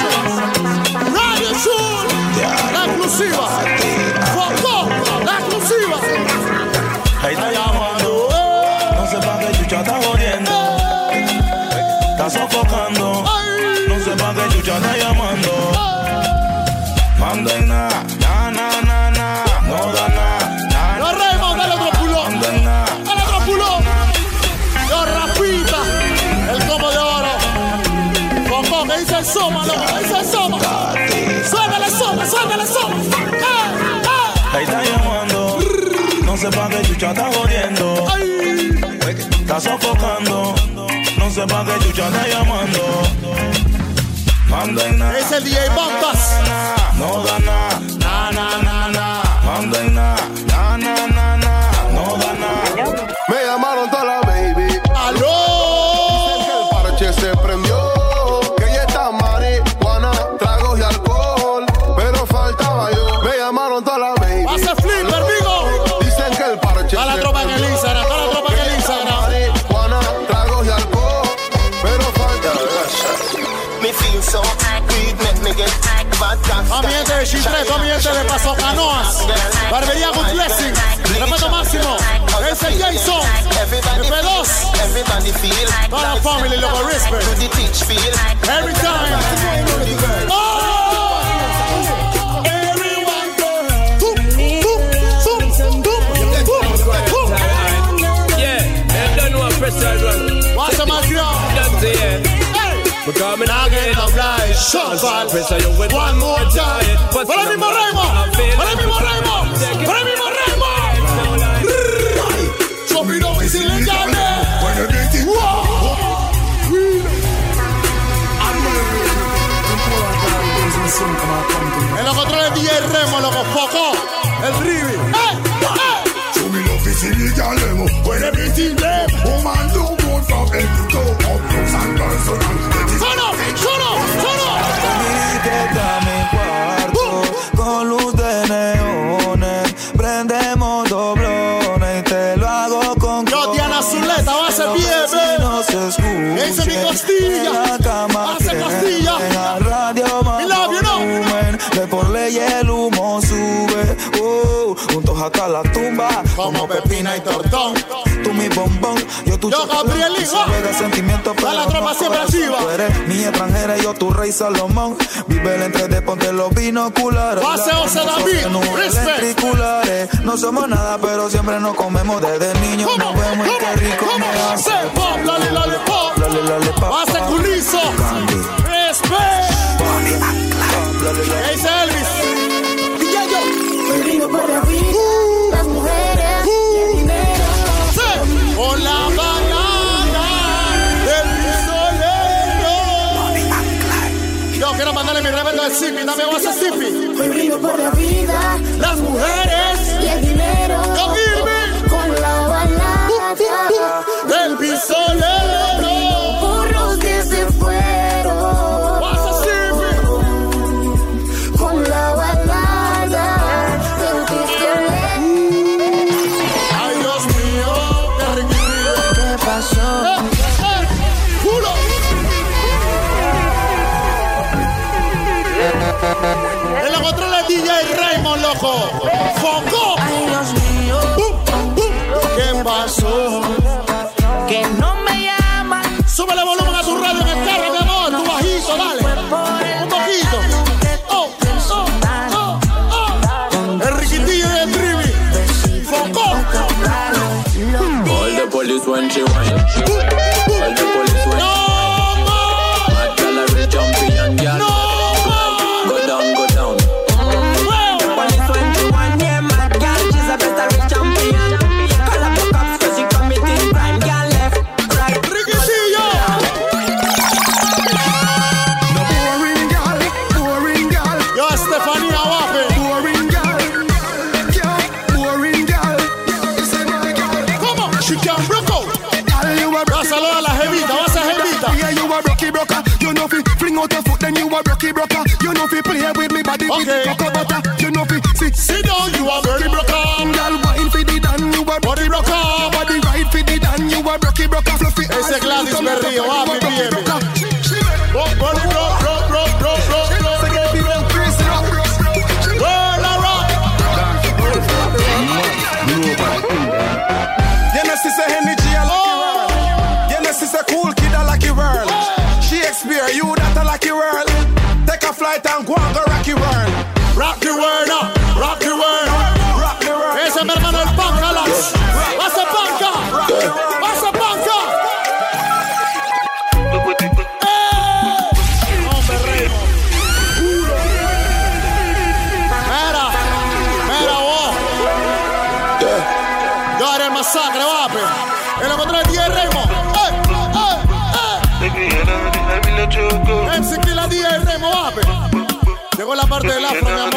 La exclusiva. Foco, la exclusiva. Ahí está llamando. No sé pa' qué chucha está jodiendo. Está sofocando. No sé pa' qué chucha está llamando. Manda en nada, no da nada. No, Raymond, dale otro pulón. Dale otro pulón. Yo, rapita. El combo de oro. Foco, me dice el soma, loco. Me dice el soma. Suéltale soma. Ahí está llamando. No sé pa' qué chucha está jodiendo. Está sofocando. No sé pa' qué chucha está llamando. Manda en nada. Es el DJ Bombas. No da nada. Manda en nada. No da nada. Me llamaron toda la baby. ¡Aló! Dicen que el parche se prendió. Que ya está marihuana, tragos y alcohol. Pero faltaba yo. Me llamaron toda la baby. Hace flipper, amigo. Dicen que el parche está la tropa en el Instagram. A mi gente de Chitreto, a mi gente de Paso Canoas, Barbería Good Blessing, respeto máximo. Es el Jason, F2, toda la familia, loco, respect. Every time. What's the matter? Because I'm not getting obliged. Shuffle. One more time. Para el mismo Remo. Para el mismo Remo. Para el mismo Remo. Yo miro y si le llame. En los controles DJ Remo, loco, foco. El Ribi. When everything left, woman do good from head to toe. Up close and personal. ¡Solo! Quédate a mi cuarto con luz de neones. Prendemos doblones y te lo hago con yo, Diana Zuleta, va a ser bien, no se escuche. Ese es mi costilla. Hace costilla. En la radio más volumen. De por ley el humo sube. Juntos hasta la tumba. Como Pepina y Tortón. Tú mi bombón, yo tu Gabriel Hijo. De sentimientos, pero la tropa siempre activa. Tú eres mi extranjera y yo tu rey Salomón. Vive el entre de ponte los binoculares. Pase José David, respect. No somos nada, pero siempre nos comemos desde niños. Nos vemos y qué rico me hace. Pop, lollipop. Pase Culizo. Respect. Ese Elvis. Vivo por la vida, las mujeres y el dinero. Con la banana del pistolero. Yo quiero mandarle mi respeto al Zippy. Dame voz a Zippy. Hoy vivo por la vida, las mujeres y el dinero. Yo con la banana del pistolero. Burros que se fueron. Voz a Zippy. Con la banana. En los controles DJ Raymond, loco. Foco. Ay, Dios mío. ¿Qué pasó? Que no me llaman. Súbele volumen a tu radio en el carro, mi amor. Tu bajito, dale. Un poquito. El riquitillo y el trivi. Foco. All the police when she whine. All the police when mad gal a real champion gal. Go down. The police when she whine, yeah, mad gal, she's a better real champion. Call up the cops 'cause she committing crime, gal left, right. Riquitillo. No boring gal. Yo, Estefanía Wape. Boring gal. ¿Cómo? She can broke out. Saluda a la jevita, vas a jevita. Yeah, you a rocky broker. You know fi fling out your foot, then you a rocky broker. You know fi play with me body with cocoa butter. You know fi sit down, you a body broker. Girl, wine fi the dan, you a body broker. Body right fi the dan, you a rocky broker. Fluffy ese es Gladys Berrío, happy baby. Cool kid, a lucky world. Shakespeare, you that a lucky world. Take a flight and go and go rocky world. Rock the world up, rock the world. Rock the world. Ese es mi hermano el Panca, Lax. Vas a Panca. Vas a Panca. Hombre rey. Mira vos. Yo haré el masacre, vape. En lo contra de 10 Remo. MC Killa DJ Remo, vape. Llegó la parte del afro, mi amor.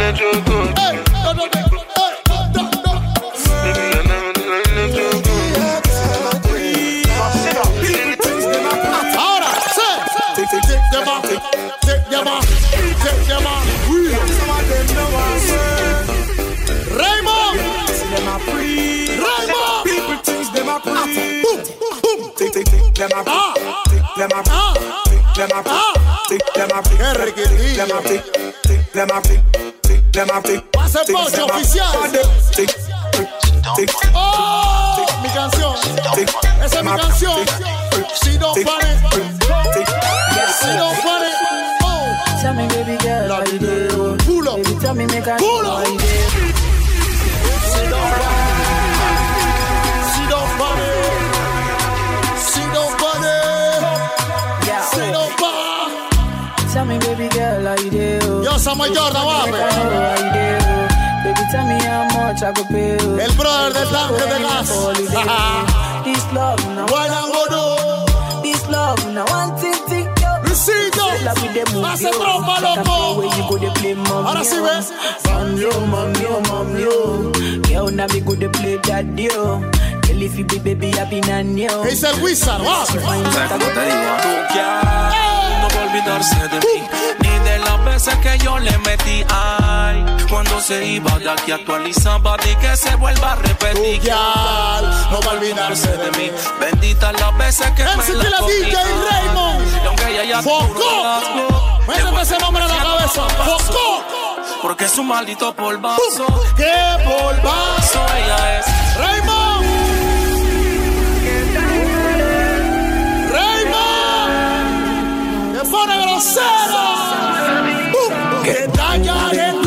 Ahora, take them off. Raymond. People things them a Them a flick, them a flick. Pase Poche oficial. Oh, mi canción. Esa es mi canción. Si don't panic. Si don't panic. Oh. Tell me, baby girl, La how you video. do? Pull up. Baby, tell me, make I Pull know up. how you do. Si don't panic. Si don't panic. Si don't panic. Si don't panic. Tell me, baby girl, how you do? Yo, Samuel Jordan, Make I know how you do. Baby, tell me how much I could pay you. El brother del tanque de gas. This love, now Why not go do? This love, now one thing, Luisito, hace trompa, loco. Ahora sí ves. Mami, girl, now me good to play that deal. Girl, if you be baby, I be nan yo. Es el Wizard, va. No va a olvidarse de mí, ni de las veces que yo le metí. Ay, cuando se iba de aquí actualizaba y que se vuelva a repetir. No va a olvidarse de mí. Bendita las veces que me MC la DJ Raymond. Y aunque ella ya Focó. Métete ese nombre en la cabeza. Focó. Porque es un maldito polvazo. ¿Qué polvazo? Ella es Raymond. Raymond. Me pone grosero. Que dañaré tu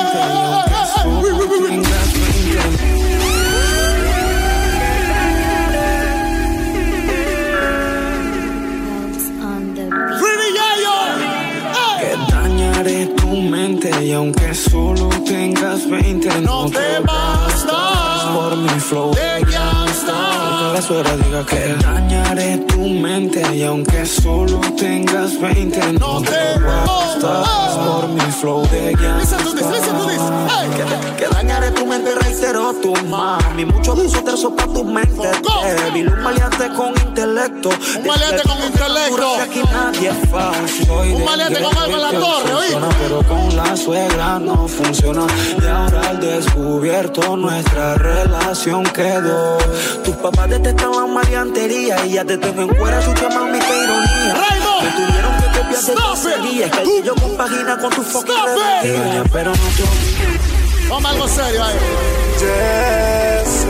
Que dañaré tu mente y aunque solo tengas 20 no te bastas por mi flow de gangsta. Porque la suegra diga que dañaré tu mente y aunque solo tengas 20 no te bastas por mi flow de gangsta. Listen to this. Hey. Que dañaré tu mente, reitero tu mami. Mucho abuso te sopa tu mente débil. Un maleante con intelecto. Un maleante con intelecto. Aquí nadie es fácil. Un maleante con algo en la torre, ¿oí? Pero con la suegra no funciona. Y ahora al descubierto nuestra relación quedó. Tus papás detestaban maleantería y ya te tengo en fuera su mami, qué ironía. Raymond, me tuvieron que copiar de tu serie. Es que yo compagina con tu fucking rebelde. Pero no te olvides. Vamos a algo serio ahí. Yes,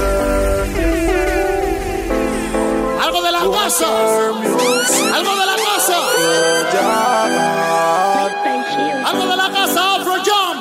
algo de la casa. Algo de la casa. Algo de la casa. Afro Jump.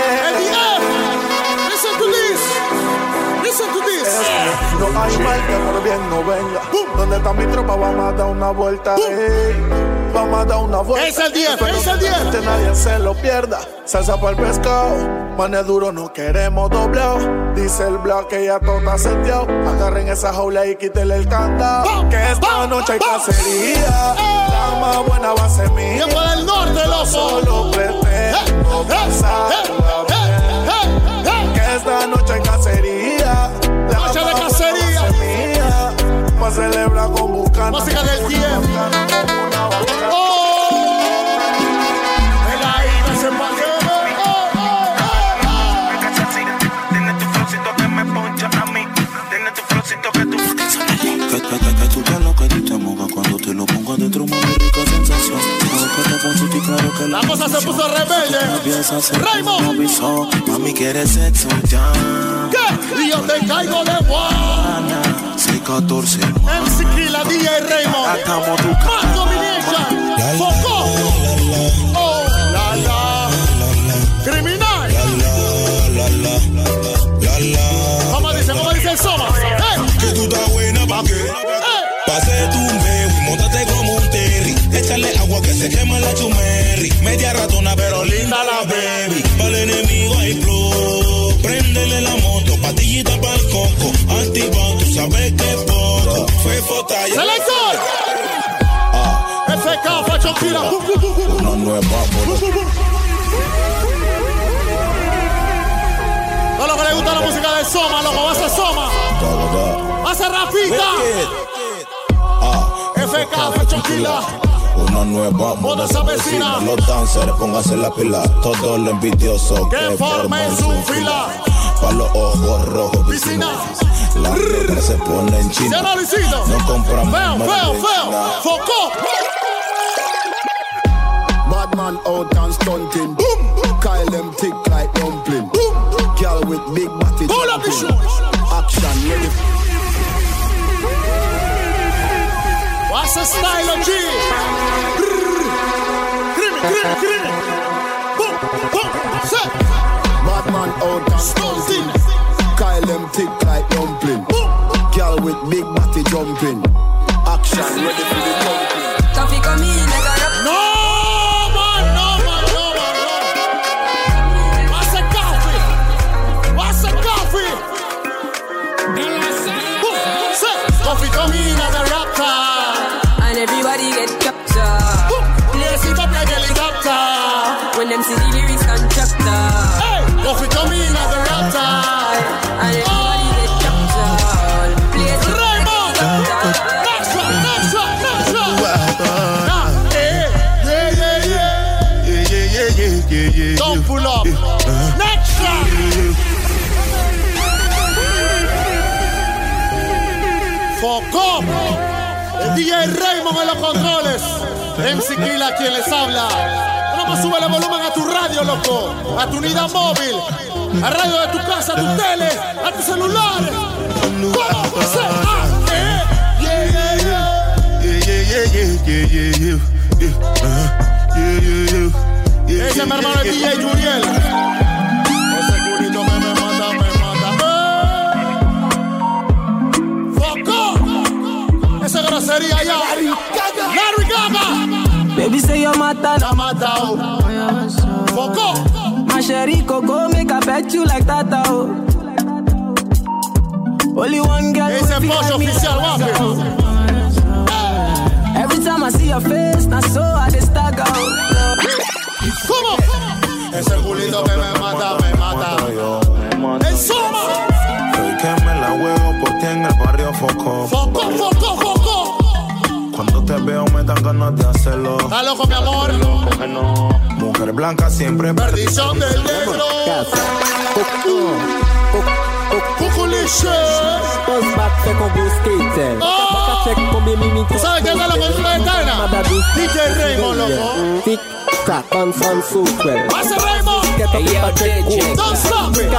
Listen to this. Listen to this. No hay mal que por bien no venga. ¿Dónde está mi tropa? Vamos a dar una vuelta. Vamos a dar una vuelta. Es el 10, es el 10. Que nadie se lo pierda. Salsa para el pescado. Manes duro, no queremos doblado. Dice el blog que ya todo está seteado. Agarren esa jaula y quítenle el candado. Que esta noche hay cacería. La más buena va a ser mía. Tiempo del norte, loco. Solo pretendo pasarla bien. Que esta noche hay cacería. Noche de cacería. Pa' celebrar con Bucana. Música del tiempo. Que tú te lo que tú te mojas cuando te lo pongo adentro, muy rica sensación. Claro que la cosa se puso rebelde. Raymond, mami quiere sexo ya. ¿Qué? Y yo te caigo de guana. 614 MC Killa, DJ Raymond. Más Domination. Focó. Oh, la la. Criminal. ¿Cómo dice el Soma? Que tú estás buena pa' qué. Pase tu baby, móntate como un terry. Échale agua que se quema la chumerri. Media ratona pero linda la baby. Para el enemigo hay flow. Préndele la moto, patillita pa'l coco. Activa, tú sabes que es poco. Fue fotalla. ¡Selector! FK, Facho Killa. Una nueva No lo que le gusta la música del Soma, loco, va a ser Soma. Va a ser Rafita. FK, Facho Killa. Una nueva moda se avecina. Los dancers, pónganse la pila. Todo lo envidioso que formen su fila. Pa' los ojos rojos, piscina. La ropa se pone en china. No compramos. Feo. Focó. Bad man out and stunting. Boom. Kyle them thick like dumpling. Girl with big body jumping. Action ready. What's the style of G? Creamy. Boom, boom, set. Bad man out and stunting. Kyle them thick like dumpling. Girl with big body jumping. Action ready for the jumping. Coffee come in like a rap. No man. What's a coffee? Set. Coffee come in like a raptor. And everybody get captured. Place it up like helicopter. When them see the lyrics contractor. Hey, coffee come in like a raptor. And everybody get captured. Place it Raymond. Next one. Yeah. Don't pull up. Next one. Focom. El DJ Raymond en los controles. MC Killa quien les habla. Vamos, sube el volumen a tu radio, loco. A tu unidad móvil. A radio de tu casa, a tu tele, a tu celular. ¿Cómo se Ese es mi hermano el DJ Juriel. Ese culito me mata. Foco. Esa grosería ya. Larry Gaga. Baby say you're mata. La matao. Foco. Masheri Coco make I bet you like that. Only one girl. Ese pollo oficial, guapo. Every time I see your face, now so I just stagger. ¿Cómo? Ese culito que me mata. ¡El Soma! Soy que me la huevo por ti en el barrio Foco. Foco. Cuando te veo me dan ganas de hacerlo. ¿Estás loco, mi amor? Mujer blanca siempre perdición del negro. Cuculiche. ¿Tú sabes qué es la cultura eterna? DJ Raymond, loco. Hace Raymond. Don't stop it.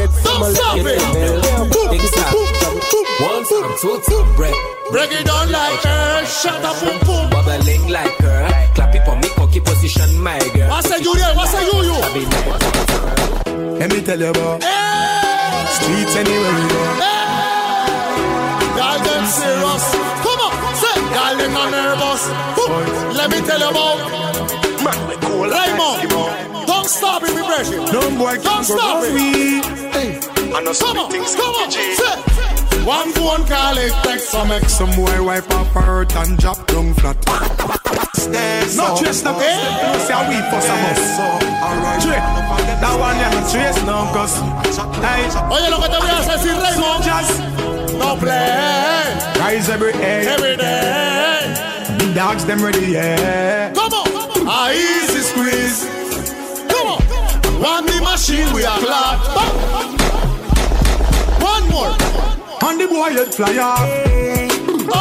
Break it down like her. Shut up, boom, boom. Bubbling like her. Clap it for me, cocky position, my girl. What's a Julian? Let me tell you about streets anywhere we go. Y'all them serious. Come on, say, y'all them not nervous. Let me tell you about Raymond. Don't stop it, vibration. No boy Don't stop it. Come on, say. One phone call it text. So make some boy wipe up her hurt and drop down flat. No trace no cause you see how we for some us. That one you no trace no cause. Oye, lo que te voy a decir, Raymond. No play. Rise every day. The dogs them ready, yeah. Come on. A easy squeeze. Come on. One the machine we are clap. One more. On the boy head fly off. Oh.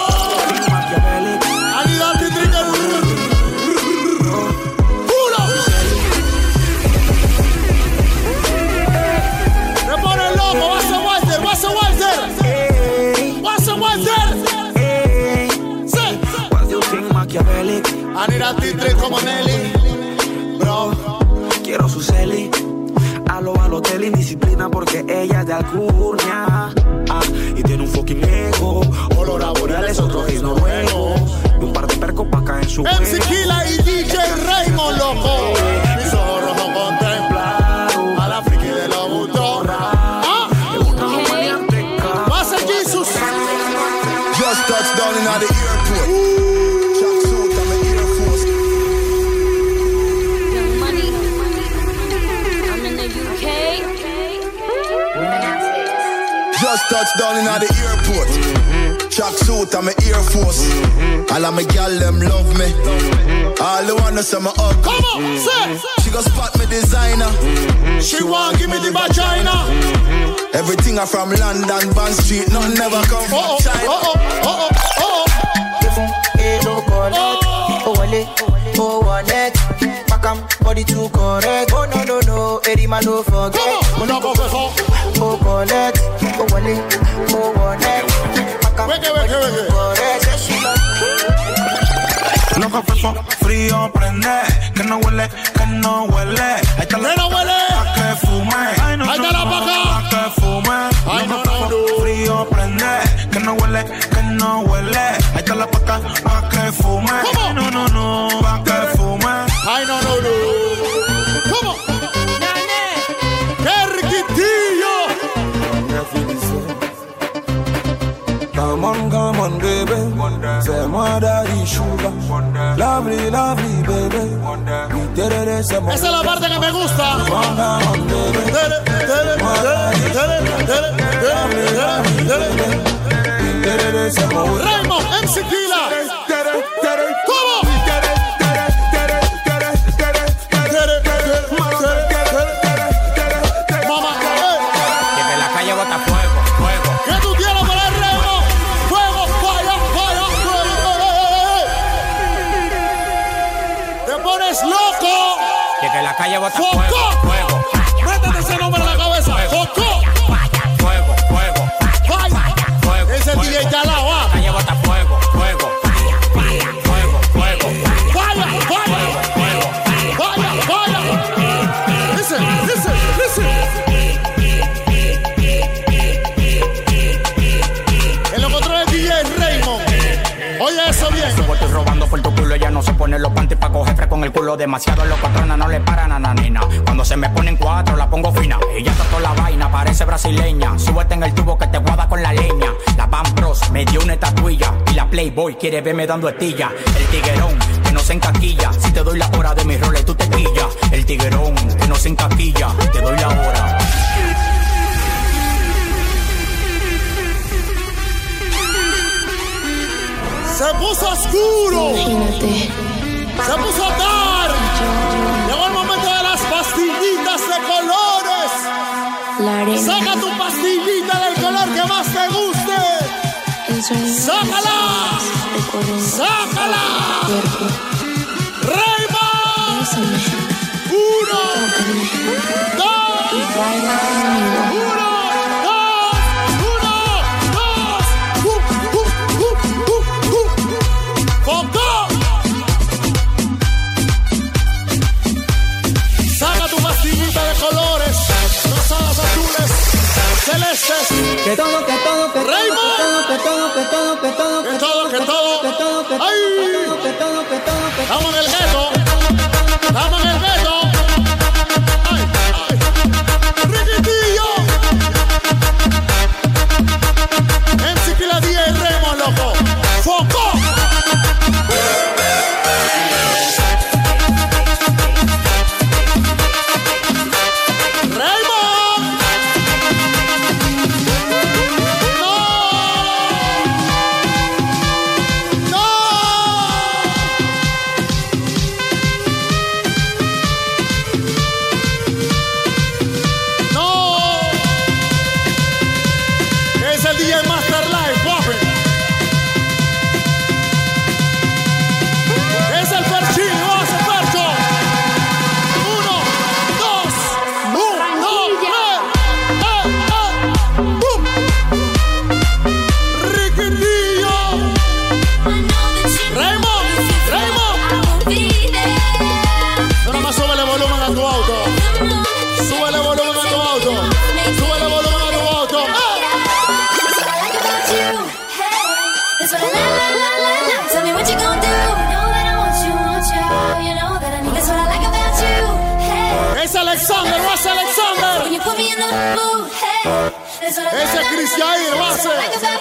I need that to drink it. Pull up. Me pone loco. What's the Walter? Say. What do you think, Machiavelli? I need that to drink como Nelly. Bro. Quiero su celi. A lo Balotelli, indisciplina porque ella es de Alcurnia. Y tiene un fucking ego. Olor a boreales, otro gay noruego. Y un par de percos pa' acá en su MC Killa y DJ Raymond, loco. Mis ojos rojos contemplaron a la friki de los gustos. Pasa Jesus. Just touched down in the airport. Track suit and my Air Force. Young Money. I'm in the UK. Just touched down in the airport. Track suit and my Air Force. All of my gal them love me. All the wanna say my ugly. Come on, say. She gon' spot me designer. She want give me the vagina. Everything I from London, Bond Street, none never come from China. body too correct. Oh no no no, Eddie man no forget. Oh no go for oh collect, oh wallet, oh wallet. Lo que fue frío prende, que no huele, que no huele. Ahí está la pa' que fume. Ahí está la pa' que fume. Lo que fue frío prende, que no huele, que no huele. Ahí está la pa' que fume. No, no, no, pa' que fume. Ay, no, no, no. ¿Cómo? ¡Qué riquitillo! Come on, baby. Say my daddy sugar. Lovely, lovely, baby. Esa es la parte que me gusta. Raymond, MC Killa. ¿Cómo? Mamá, que la calle bota fuego, fuego. ¿Qué tú tienes para el Raymond? Fuego, falla, falla, fuego. Te pones loco. Que la calle bota fuego, fuego. Métete ese nombre en la cabeza. Foco. Fuego, fuego. Fuego. Ese DJ está al lado. La calle bota fuego, fuego. Fuego, fuego. Falla, falla. Falla, falla. Listen, listen, listen. En los controles DJ Raymond. Oye eso bien. Yo estoy robando por tu culo, ella no se pone los panties pa' coger fresco en el culo. Demasiado los patrones no le paran a nanina. Cuando se me ponen cuatro la pongo fina. Ella está toda la vaina, parece brasileña. Súbete en el tubo que te guada con la leña. La Van Bros me dio una estatuilla. Y la Playboy quiere verme dando estilla. El tiguerón que no se encaquilla. Si te doy la hora de mis roles tú te quillas. El tiguerón que no se encaquilla. Te doy la hora. Se puso oscuro. Imagínate. Se puso dark. Llegó el momento de las pastillitas de colores. La arena. Saca tu pastillita del color que más te guste. ¡Sácala! ¡Sácala! ¡Raymond! 1, 2, 1. Celestes. Que todo, que todo, que Raymond. que todo, que todo, que todo, que todo, que todo, que todo, que todo, ay, que todo, que todo, que estamos en el gueto. Estamos en el gueto. Ay, ay. Riquitillo. MC Killa DJ Raymond, loco. Foco. Ese es Chris Jair, lo hace.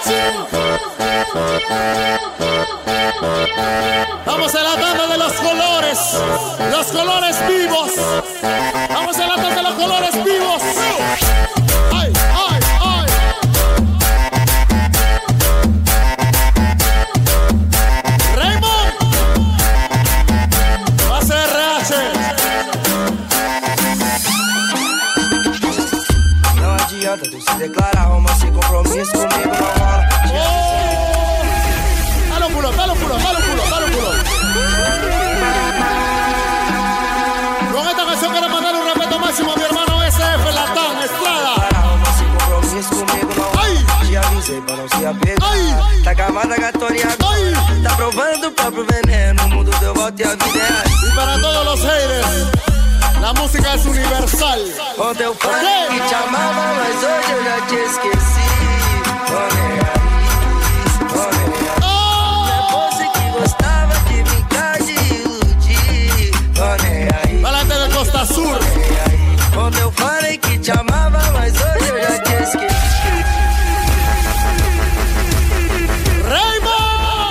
Vamos a la tanda de los colores vivos. Vamos a la tanda de los colores vivos. Ay, ay, ay. Raymond. Va a ser RH. Tu se declara homem sem compromisso comigo não rola. Dale un culo, dale un culo, dale un culo, dale un culo. Con se apegar. Tá acabada com a história agora. Tá provando o próprio veneno. O mundo deu volta e a vida é assim. Y para todos los haters, la música es universal. Ontem eu falei que te amava, mas hoje eu já te esqueci. Não é você que gostava de brincar de iludir. Valente de Costa Sur. Ontem eu falei que te amava, mas hoje eu já te esqueci. Raymond.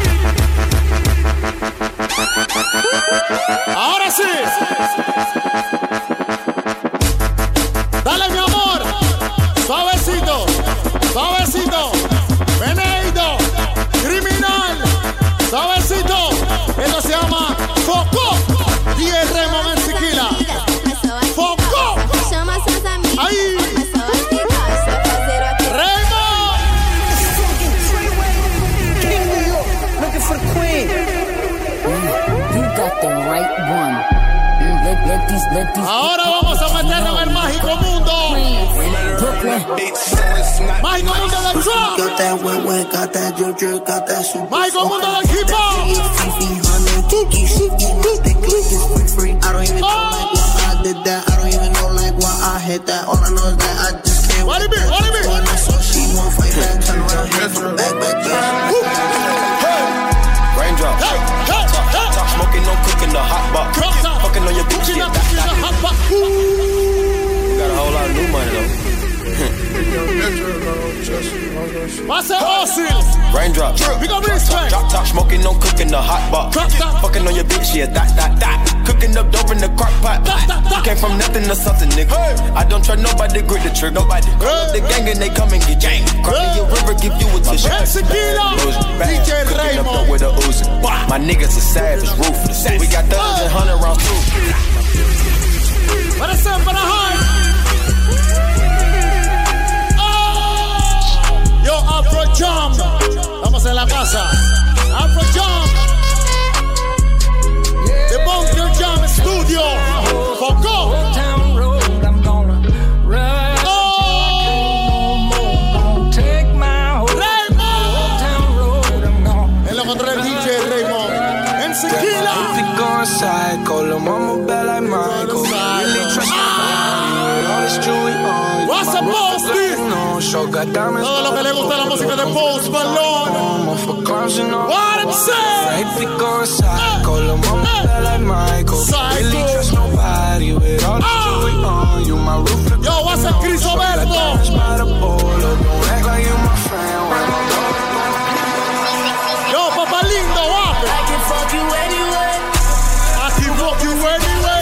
Ahora sí. Dale, mi amor. Suavecito. Suavecito. Veneido. Criminal. Suavecito. Esto se llama Foco. Y el Raymond en Siquila. Foco. Ahí. Raymond. Looking for the queen. You got the right one. Let these Ahora vamos a meternos en el mágico mundo. Mágico mundo del trap. Got that wet, got that drip, got that super. Mágico mundo del hip hop. I don't even know like why I did that. I don't even know like why I hit that. All I know is that I just can't. What it be? What it be? So she won't fight back. Turn around, hit from the back. Raindrop. Top smoking, no cooking, the hot box. Fucking on your bitch, yeah. You got a whole lot of new money though. What's that Austin? Raindrop. We gon' respect. Drop top smoking, no cooking, the hot box. Fucking on your bitch, yeah. That. Cooking up dope in the crock pot. You came from nothing to something, nigga. I don't try nobody, grip the trick. Nobody. Call up the gang and they come and get gang. Cry in your river, give you a tissue. DJ Raymond with a Uzi. My niggas are savage, ruthless. We got thugs and 100 rounds too. What is up for the heart? Yo, Afro Jam. Vamos en la casa. Afro Jam. The Bunker Jam Studio. Foco. En lo contra el DJ Raymond. En Siquila. Psycho, lil' mama bad like Michael. Really trust me. All this jewelry on. What's up, Posty? Todo lo que le gusta la música de Post Malone. What I'm saying? If we go psycho, lil' mama bad like Michael. Really trust nobody with all this jewelry on. You my roof. Yo, what's up, Chris Roberto? Don't act like you my friend. Yo, Papa Lindo, what? I can fuck you anyway. I can fuck you anyway.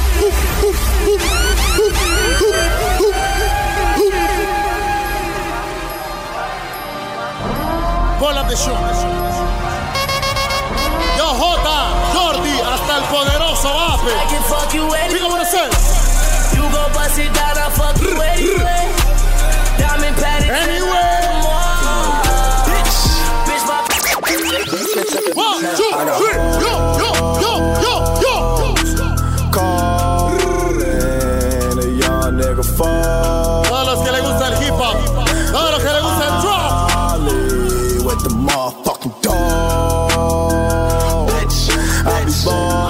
Pull up the show. Yo, Jota, Jordi, hasta el poderoso Ape. I can fuck you anyway. We gonna say. You gon' bust it down, I fuck you anyway. Diamond padded anyway. Bitch, my 1, 2, 3, yo. Calling a young nigga fall. Todos los que le gusta el hip hop, todos los que le gusta el trap. With the motherfucking dog. I be born.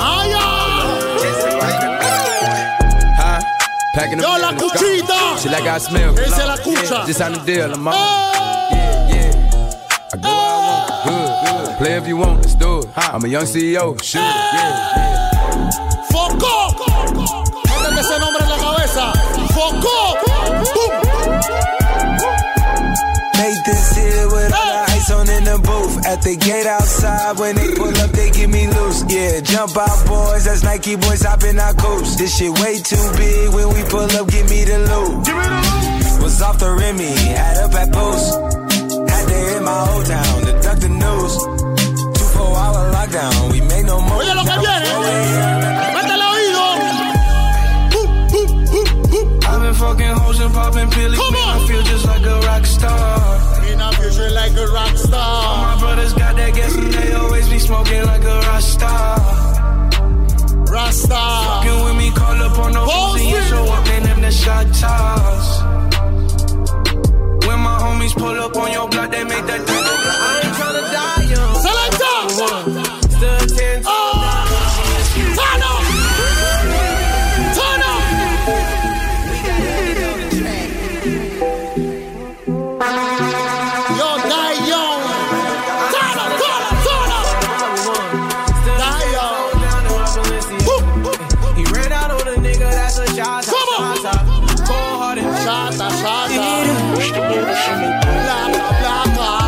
Yo, la cuchita. She like I smell. Esa es la cucha. Just on the deal, I'm on. Yeah. I go where I want. Good. Play if you want, let's do it. I'm a young CEO. Shoot it. Yeah. Foco. Métete ese nombre en la cabeza. Foco. Made this here with all the ice on in the booth. At the gate outside, when they pull up, they give me loose. Yeah, jump out, boys. That's Nike boys hopping our coops. This shit way too big. When we pull up, give me the loot. Was off the Remy, had up at post. Had to hit my old town to duck the news. 24-hour lockdown, we made no more. Oye lo que viene. Métele oído. I've been fucking hoes and popping pills. Come on. I feel just like a rock star. I feel like a rock star. All my brothers got that gas and they always be smoking like a rock star. Rasta. Fucking with me, call up on the Uzi and show up in them the shot toss. When my homie homies pull up on your block, they make that thing go. I ain't tryna die young. Select Stood 10 Turn up! Turn up! Yo, die young. Turn up, turn up, turn up. Die young. He ran out on a nigga, that's a shot. Come on. Cold-hearted. Shata, shata. Blacka, blacka.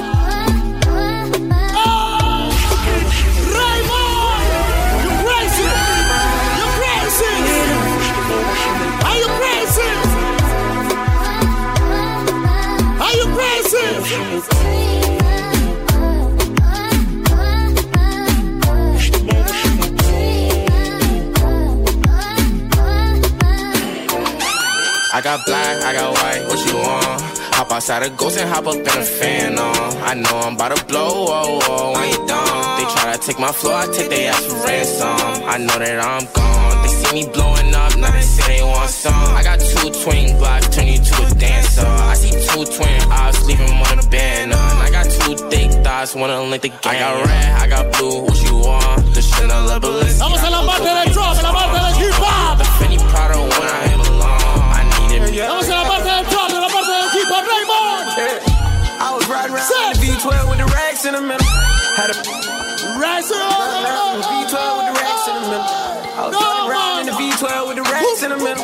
I got black, I got white, what you want? Hop outside a ghost and hop up in a fan on. I know I'm about to blow, oh, oh, when you done. They try to take my floor, I take their ass for ransom. I know that I'm gone. They see me blowing up, now they say they want some. I got 2 twin blocks, turn you to a dancer. I see 2 twin eyes, leave them on a banner. I got 2 thick thighs, wanna link the game. I got red, I got blue, what you want? The Chanel Balenciaga. Vamos a la parte del drop, a la parte del hip hop. The Fendi Prada when I belong. Vamos a la parte del drop, a la parte del hip hop, Raymond. I was riding around in the V12 with the racks in the middle. Had a racks in the V12 with the racks in the middle. I was riding around in the V12 with the racks in the middle.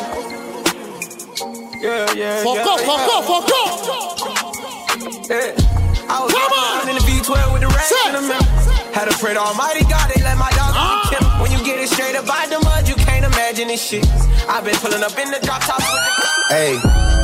Yeah. Fuck up. Yeah. I was riding in the V12 with the racks in the middle. Had to pray to Almighty God, they let my dog kill him. When you get it straight up by the mud, you can't imagine this shit. I've been pulling up in the drop top with the hey.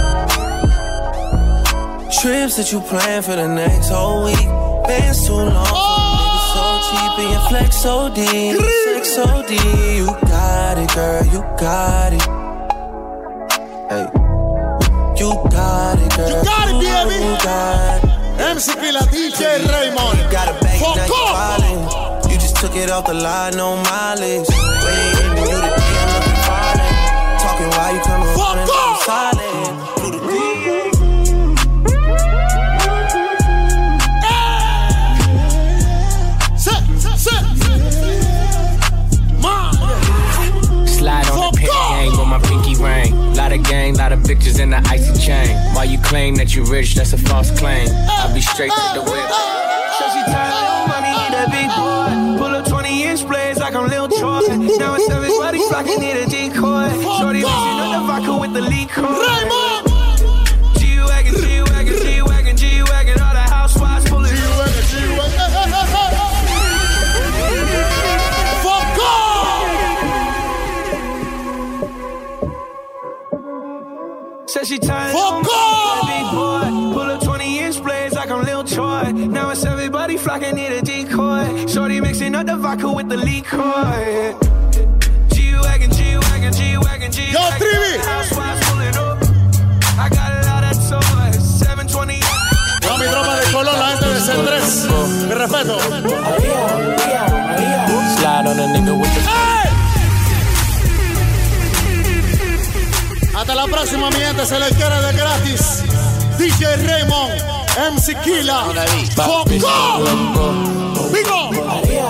Trips that you plan for the next whole week. Bands too long. Niggas so cheap and your flex so deep. Sex so deep. You got it, girl, you got it. Hey. You got it, girl. You got it, baby. You got it. MC Killa, DJ Raymond. You got a bag, now you wildin'. You just took it off the line, no mileage. Waiting for you to DM, looking violent. Talking while you coming running, I'm silent. Do the thing. Slide on the pit gang with my pinky ring. Lot of gang, lot of bitches in the icy chain. While you claim that you rich, that's a false claim. I'll be straight to the whip. So she tired of money, need a big boy. Pull up 20-inch blades like I'm Lil Troy. Now it's everybody flocking, need a decoy. Shorty mixing up the vodka with the liquor. G-Wagon, all the housewives pulling G-Wagon. Fuck off! Said she tired of big boy. Pull up 20-inch blades like I'm Lil Troy. Now it's everybody flocking, need a decoy. Shorty mixing up the vodka with the liquor. G-Wagon. Yo, Trivi! Housewives pulling up. I got a lot of toys. 720. Yo, mi tropa de color, la gente de C3. Mi respeto. Slide on a nigga with the... Hasta la próxima, mi gente, se les quiere de gratis. DJ Raymond, MC Killa, Coco, Bigo.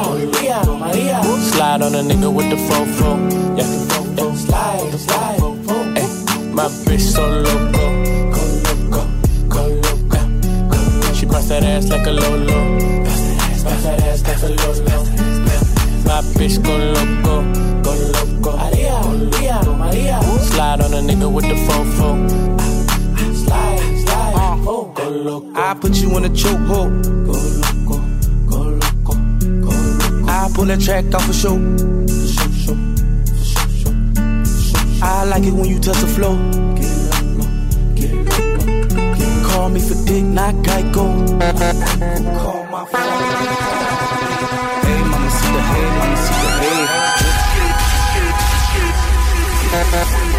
Slide on a nigga with the fofo. Yeah. Slide. Hey, my bitch so loco. Go loco. She bust that ass like a Lolo. Bust that ass like a Lolo. My bitch go loco. Slide on a nigga with the fofo. Slide. Go loco. I put you in a chokehold. Go loco. I pull that track off a show. I like it when you touch the floor. Call me for dick, not Geico. Call my phone. Hey, mama, see the hey.